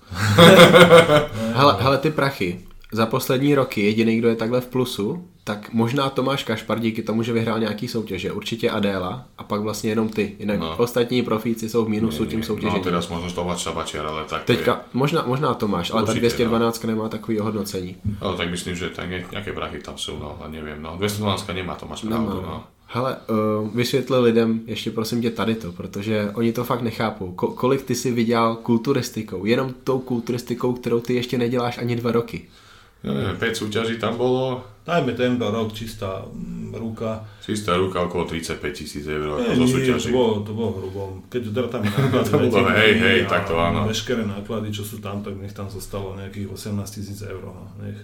Hele, ty prachy. Za poslední roky jediný, kdo je takhle v plusu, tak možná Tomáš Kašpar díky tomu, že vyhrál nějaký soutěže. Určitě Adéla a pak vlastně jenom ty. Jinak ostatní profíci jsou v mínusu tím soutěžením. No teraz možno Tomáš Sabačiar, ale tak... Teďka, možná Tomáš, ale určitě, ta 212 nemá takový ohodnocení. Ale tak myslím, že tak nejaké prachy tam jsou, no, a neviem, no. 212 nemá Tomáš pravdu, no. Hele, vysvětli lidem ještě prosím tě tady to, protože oni to fakt nechápou. Kolik ty si vydělal kulturistikou? Jenom tou kulturistikou, kterou ty ještě neděláš ani 2 roky. Ja neviem, 5 súťaží tam bolo. Dajme tento rok čistá ruka. Čistá ruka okolo 35 000 eur zo súťaží. To bolo hrubo. Keď drtáme náklady, hej, tak to áno. Veškeré náklady, čo sú tam, tak nech tam zostalo nejakých 18 000 eur. Nech.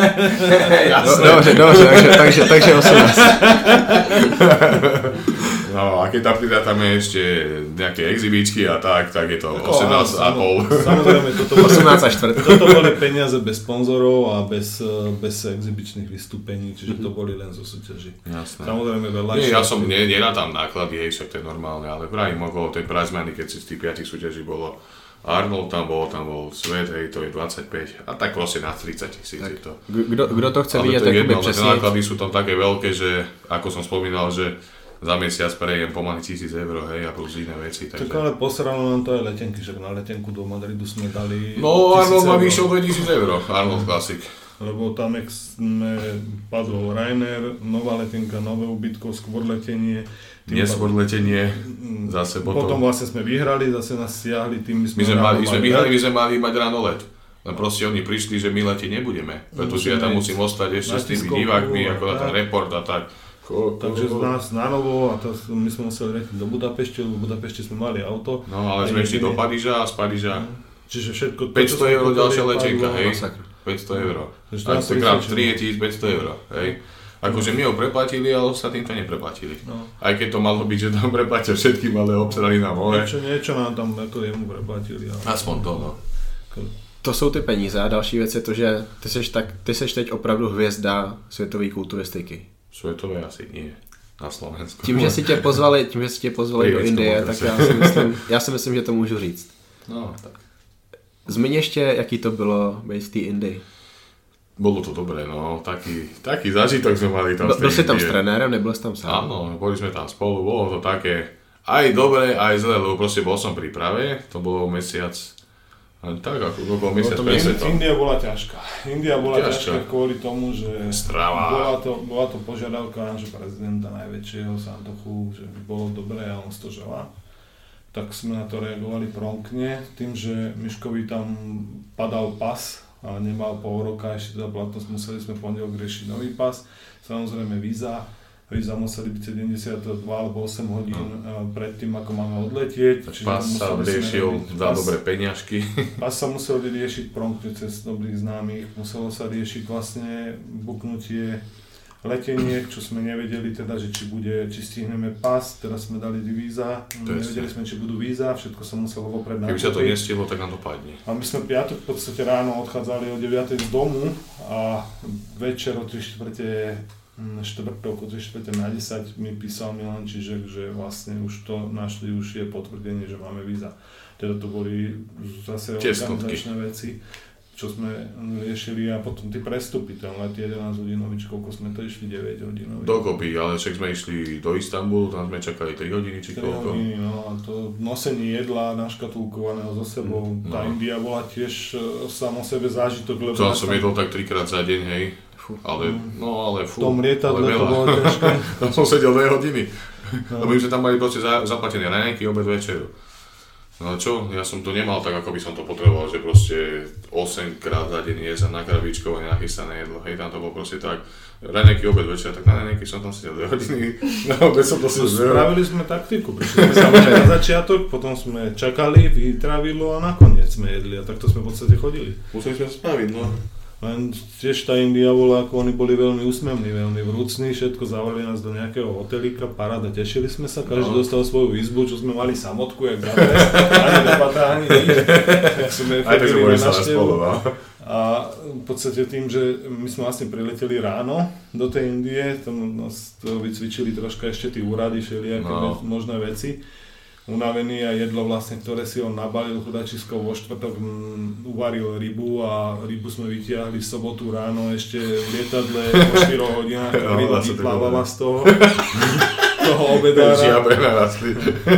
Dobře, takže 18. No a keď tam pridátame ešte nejaké exhibíčky a tak je to 18,5. Samozrejme, 18,4. Toto boli peniaze bez sponzorov a bez exibičných vystúpení, čiže to boli len zo súťaží. Jasné. Samozrejme veľa. Nie, ja som tam náklady, však to je normálne, ale vrajím okolo tej prize money, keď si z tých 5 súťaží bolo Arnold tam bol Svet, to je 25 a tak proste na 30 000 je to. Kdo to chce vidět, tak jakoby tie přesně? náklady sú tam také veľké, že ako som spomínal, že za mesiac prejem pomaly 1,000 €, hej, a plus iné veci. Tak ale posralo nám to aj letenky, že na letenku do Madridu sme dali... No Arnold ma vyšiel 2,000 €, Arnold Classic. Lebo tam sme padol Ryanair, nová letenka, nové ubytko, skôr letenie. Neskôr letenie, zase Potom vlastne sme vyhrali, zase nás stiahli, tým my sme mali mať ráno let. Len proste oni prišli, že my letieť nebudeme, pretože ja tam musím ostať ešte s tými divákmi, ako na ten report a tak. Takže z nás na novo a my sme museli letieť do Budapešti, lebo v Budapešti sme mali auto. No ale sme išli do Paríža a z Paríža Čiže všetko... 500 € ďalšia letenka, hej? 500 €. A to krát 3 je 1500 €, hej? Akože my ho preplatili, ale ostatným to nepreplatili. No. Aj keď to malo byť, že tam preplatia všetkým, ale obsrali nám hore. Niečo nám tam ako jemu preplatili. Ale... Aspoň to, no. To jsou ty peníze a další věc je to, že ty seš teď opravdu hvězda světové kulturistiky. Světové asi nie. Na Slovensku. Tím, že si tě pozvali do Indie, tak já si myslím, že to můžu říct. No, tak. Zmiň ještě, jaký to bylo být v té Indii. Bolo to dobré, no, taký zážitok sme mali tam. Byl si tam s trenérem, nebyl si tam sám? Áno, boli sme tam spolu, bolo to také aj dobré, aj zlé, lebo proste bol som pri príprave, to bolo mesiac, tak ako bol mesiac presvetom. India bola ťažká kvôli tomu, že bola to požiadavka nášho prezidenta najväčšieho Santochu, že by bolo dobré a on to želá. Tak sme na to reagovali promptne, tým, že Miškovi tam padal pas, a nemal pol roka ešte teda platnosť, museli sme v pondelok riešiť nový pas, samozrejme víza museli byť 72 alebo 8 hodín predtým, ako máme odletieť. Pas sa riešil za dobré peňažky. Pas sa musel riešiť promptne cez dobrých známych, muselo sa riešiť vlastne buknutie leteniek, čo sme nevedeli teda, že či stihneme pas, teraz sme dali víza, nevedeli sme, či budú víza, všetko sa muselo vopred nakúpiť. Keby sa to nestihlo, tak nám to padne. A my sme piatok v podstate ráno odchádzali o 9 z domu a večer o 3/4 štvrtok o 3/4 mi písal Milan Čižek, že vlastne už to našli, už je potvrdenie, že máme víza. Teda to boli zase organizačné veci, čo sme riešili a potom tí prestupy, ten let 11 hodinový, koľko sme to išli, 9 hodinový. Dokopy, ale však sme išli do Istanbulu, tam sme čakali 3 hodiny či koľko. 3 hodiny, no a to nosenie jedla naškatulkovaného so sebou, tá India bola tiež samo sebe zážitok, lebo... To som jedol tak 3-krát za deň, hej, ale v tom lietadle to bolo ťažké. Tam som sedel 2 hodiny, lebo my sme tam mali proste zaplatené raňajky, obed, večeru. No čo, ja som to nemal tak, ako by som to potreboval, že proste 8 krát za deň jesť na krabičkové nachystané jedlo, hej, tam to bolo proste tak, raňajky, obed, večer, tak na raňajky som tam sedel 2 hodiny, na obed som to sedel 2 hodiny. Spravili sme taktiku, prišli sme samozrejme na začiatok, potom sme čakali, vytravilo a nakoniec sme jedli a takto sme v podstate chodili. Museli sme spraviť, no. Len tiež tá India bola, ako oni boli veľmi úsmevní, veľmi vrúcni, všetko zavolali nás do nejakého hotelíka, paráda, tešili sme sa, každý dostal svoju izbu, čo sme mali samotku, jak zavrez, ani debata, ani nič, tak sme chodili na návštevu. A v podstate tým, že my sme vlastne prileteli ráno do tej Indie, tam nás to vycvičili troška ešte tí úrady, všelijaké možné veci. Unavený a jedlo vlastne, ktoré si on nabalil chudačisko vo štvrtok, uvaril rybu a rybu sme vytiahli v sobotu ráno ešte v lietadle po 4 hodinách, ryba vyplávala z toho obedára. Žiabe narastli.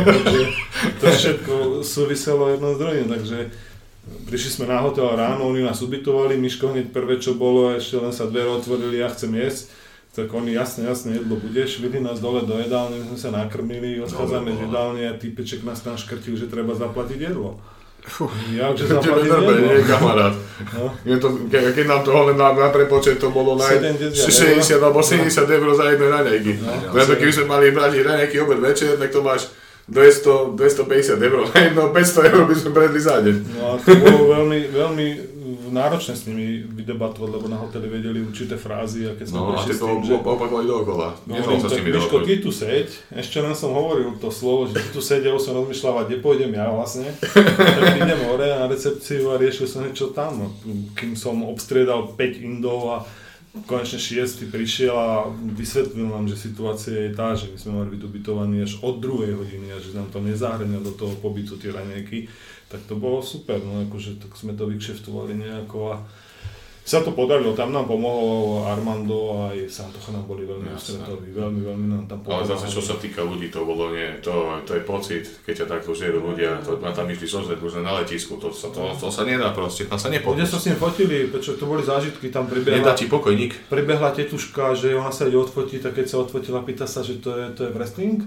To všetko súviselo jedno s druhým, takže prišli sme na hotel ráno, oni nás ubytovali, Miško hneď prvé čo bolo, ešte len sa dvere otvorili, ja chcem jesť. Tak oni jasne jedlo bude, švili nás dole do jedálne, my sme sa nakrmili, odchádzame z jedálne a týpeček nás tam škrtil, že treba zaplatiť jedlo. Jakže zaplatiť jedlo? Nie, kamarát. No? Keď nám to len na prepočet to bolo 60 alebo 70 € za jedné raňajky. Preto keby sme mali brať raňajky obed večer, tak to máš 250 € na jedno, 500 € by sme predli za deň. No a to bolo veľmi náročné s nimi vydebatovať, lebo na hoteli vedeli určité frázy a keď sme a ty to opakovali dookola. Nedal sa s nimi Miško, ty tu seď, ešte len som hovoril to slovo, že ty tu seď, ja už som rozmýšľal, kde pôjdem ja vlastne. Tak idem hore na recepciu a riešil som niečo tam. Kým som obstriedal 5 Indov a konečne 6. prišiel a vysvetlil nám, že situácia je tá, že my sme mali byť ubytovaní až od 2. hodiny a že nám to nezahrňa do toho pobytu tie raňajky, tak to bolo super, no akože tak sme to vykšeftovali nejako a sa to podarilo, tam nám pomohol Armando a aj Santocha nám boli veľmi ústretoví, veľmi nám tam pomohli. Ale zase čo sa týka ľudí, to bolo nie, to je pocit, keď ťa takto žerú ľudia, to ma tam išli sozrieť už na letisku, to sa nedá proste, tam sa nepotúť. Ľudia sa s ním fotili, prečo to boli zážitky, tam pribehla... Nedá ti pokojník. Pribehla tetuška, že ona sa ide odfotiť a keď sa odfotila, pýta sa, že to je wrestling.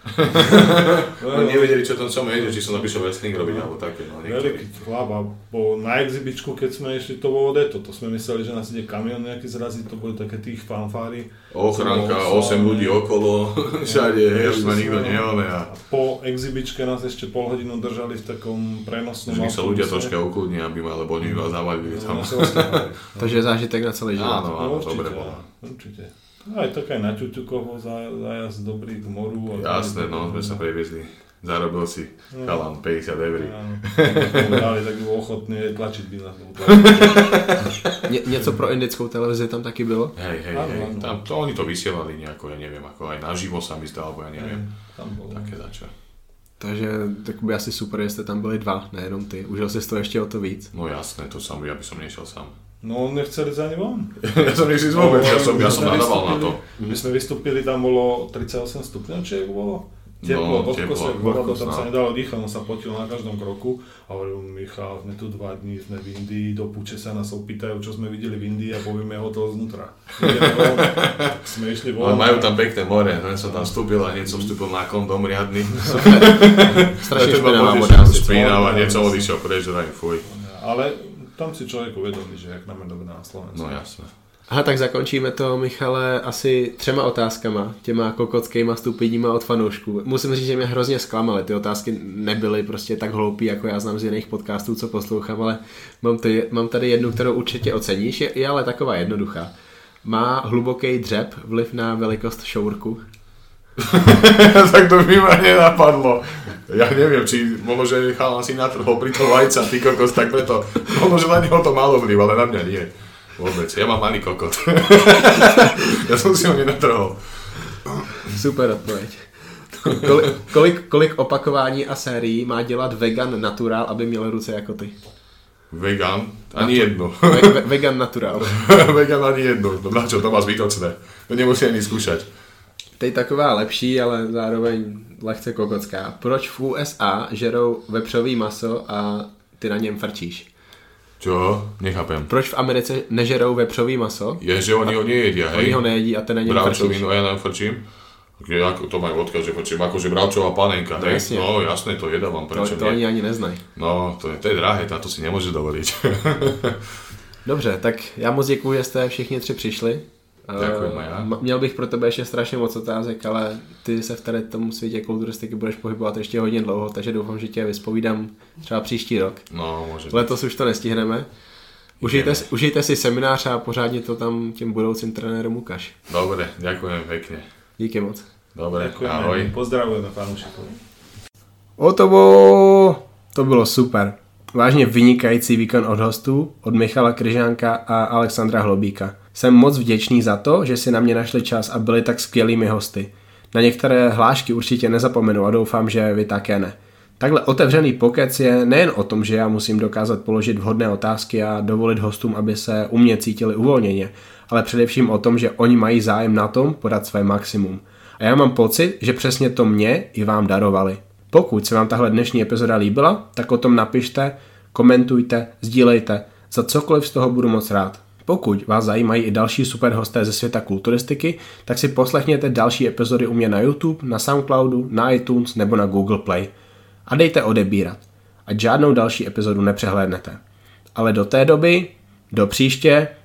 No, nevedeli, čo tam som či som napíšel wrestling robiť, alebo také. No, veľký chlap a na exhibičku, keď sme išli, to bolo to sme mysleli, že nás ide kamión nejaký zraziť, to boli také tých fanfári. Ochránka, 8 ľudí okolo, všade, ma nikto neole. A po exhibičke nás ešte pol hodinu držali v takom prenosnom autobuse. Že sa ľudia troška ukludní, aby ma, lebo oni vás zavalili tam. Takže zážitek na celý život. Áno, dobre bolo. Určite. Aj tak aj na Ťuťukovo zájazd dobrý k moru. Jasné, no, sme sa previezli. Zarobil si chalan 50 €. Dali tak ochotný tlačiť by nás. Něco pro indickou televizi tam taky bylo? Hej. Tam to oni to vysielali nejako, ja neviem, ako aj naživo sa mi zdá, alebo ja neviem. Tam bolo. Také začo. Takže tak by asi super, že jste tam byli dva, nejenom ty. Užil si to ještě o to víc. No jasné, to ja by som nešiel sám. No nechceli za ne von. Ja som nechci vôbec, ja som nadával na to. My sme vystúpili, tam bolo 38 stupňov, či bolo? Teplo, tam sa nedalo dýchať, on sa potil na každom kroku a hovoril, Michal, sme tu 2 dní, sme v Indii, do púče sa nás opýtajú, čo sme videli v Indii a povieme hotel znútra. Tak sme išli von. Ale majú tam pekné more, len som tam vstúpil a hneď som vstúpil na kondom riadny. Strašne špinavá voda. Špinavá, hneď som odišiel preč, fuj. Ale tam si človek uvedomí, že jak nám je dobré na Slovensku. No jasné. Aha, tak zakončíme to, Michale, asi 3 otázkama, těma kokockýma stupidíma od fanoušků. Musím říct, že mě hrozně zklamaly, ty otázky nebyly prostě tak hloupý, jako já znám z jiných podcastů, co poslouchám, ale mám tady jednu, kterou určitě oceníš, je ale taková jednoduchá. Má hluboký dřep vliv na velikost šourku? Tak to by ma nenapadlo. Ja neviem, či možno, že chalan si natrhol pri to vajca, ty kokos, tak preto. Možno, že na neho to malo vliv, ale na mňa nie. Vôbec, ja mám malý kokot. Ja som si ho nenatrhol. Super odpověď. Kolik opakování a sérií má dělat vegan natural, aby měl ruce jako ty? Vegan? Ani jedno. Vegan natural. Vegan ani jedno. No na čo, to má zbytočné. To nemusí ani skúšať. Teď taková lepší, ale zároveň lehce kokocká. Proč v USA žerou vepřový maso a ty na něm frčíš? Čo? Nechápem. Proč v Americe nežerou vepřový maso? Je, že oni ho nejedia, hej? Oni ho nejedí a ty na něm frčíš. Bravčovinu a ja na něm frčím? Ako to majú odkaz, že frčím, akože bravčová panenka, hej? Jasne. No jasné, to jedávam, prečo to oni ani neznají. No, to je drahé, to si nemôže dovoliť. Dobře, tak já moc děkuji, že jste všichni 3 přišli. Ďakujem aj ja. Měl bych pro tebe ještě strašně moc otázek, ale ty se v tady tom světě kulturistiky budeš pohybovat ještě hodně dlouho, takže doufám, že tě vyspovídám třeba příští rok. No, môže. Letos už to nestihneme. Užijte si seminář a pořádně to tam těm budoucím trenérům ukáž. Dobre, ďakujem pekne. Díky moc. Dobre, Ďakujeme, ahoj. pozdravujeme fanúšikov. To bylo super. Vážně vynikající výkon od hostů, od Michala Kryžánka a Alexandra Hlobíka. Jsem moc vděčný za to, že si na mě našli čas a byli tak skvělými hosty. Na některé hlášky určitě nezapomenu a doufám, že vy také ne. Takhle otevřený pokec je nejen o tom, že já musím dokázat položit vhodné otázky a dovolit hostům, aby se u mě cítili uvolněně, ale především o tom, že oni mají zájem na tom podat své maximum. A já mám pocit, že přesně to mě i vám darovali. Pokud se vám tahle dnešní epizoda líbila, tak o tom napište, komentujte, sdílejte, za cokoliv z toho budu moc rád. Pokud vás zajímají i další super hosté ze světa kulturistiky, tak si poslechněte další epizody u mě na YouTube, na Soundcloudu, na iTunes nebo na Google Play. A dejte odebírat, ať žádnou další epizodu nepřehlédnete. Ale do té doby, do příště,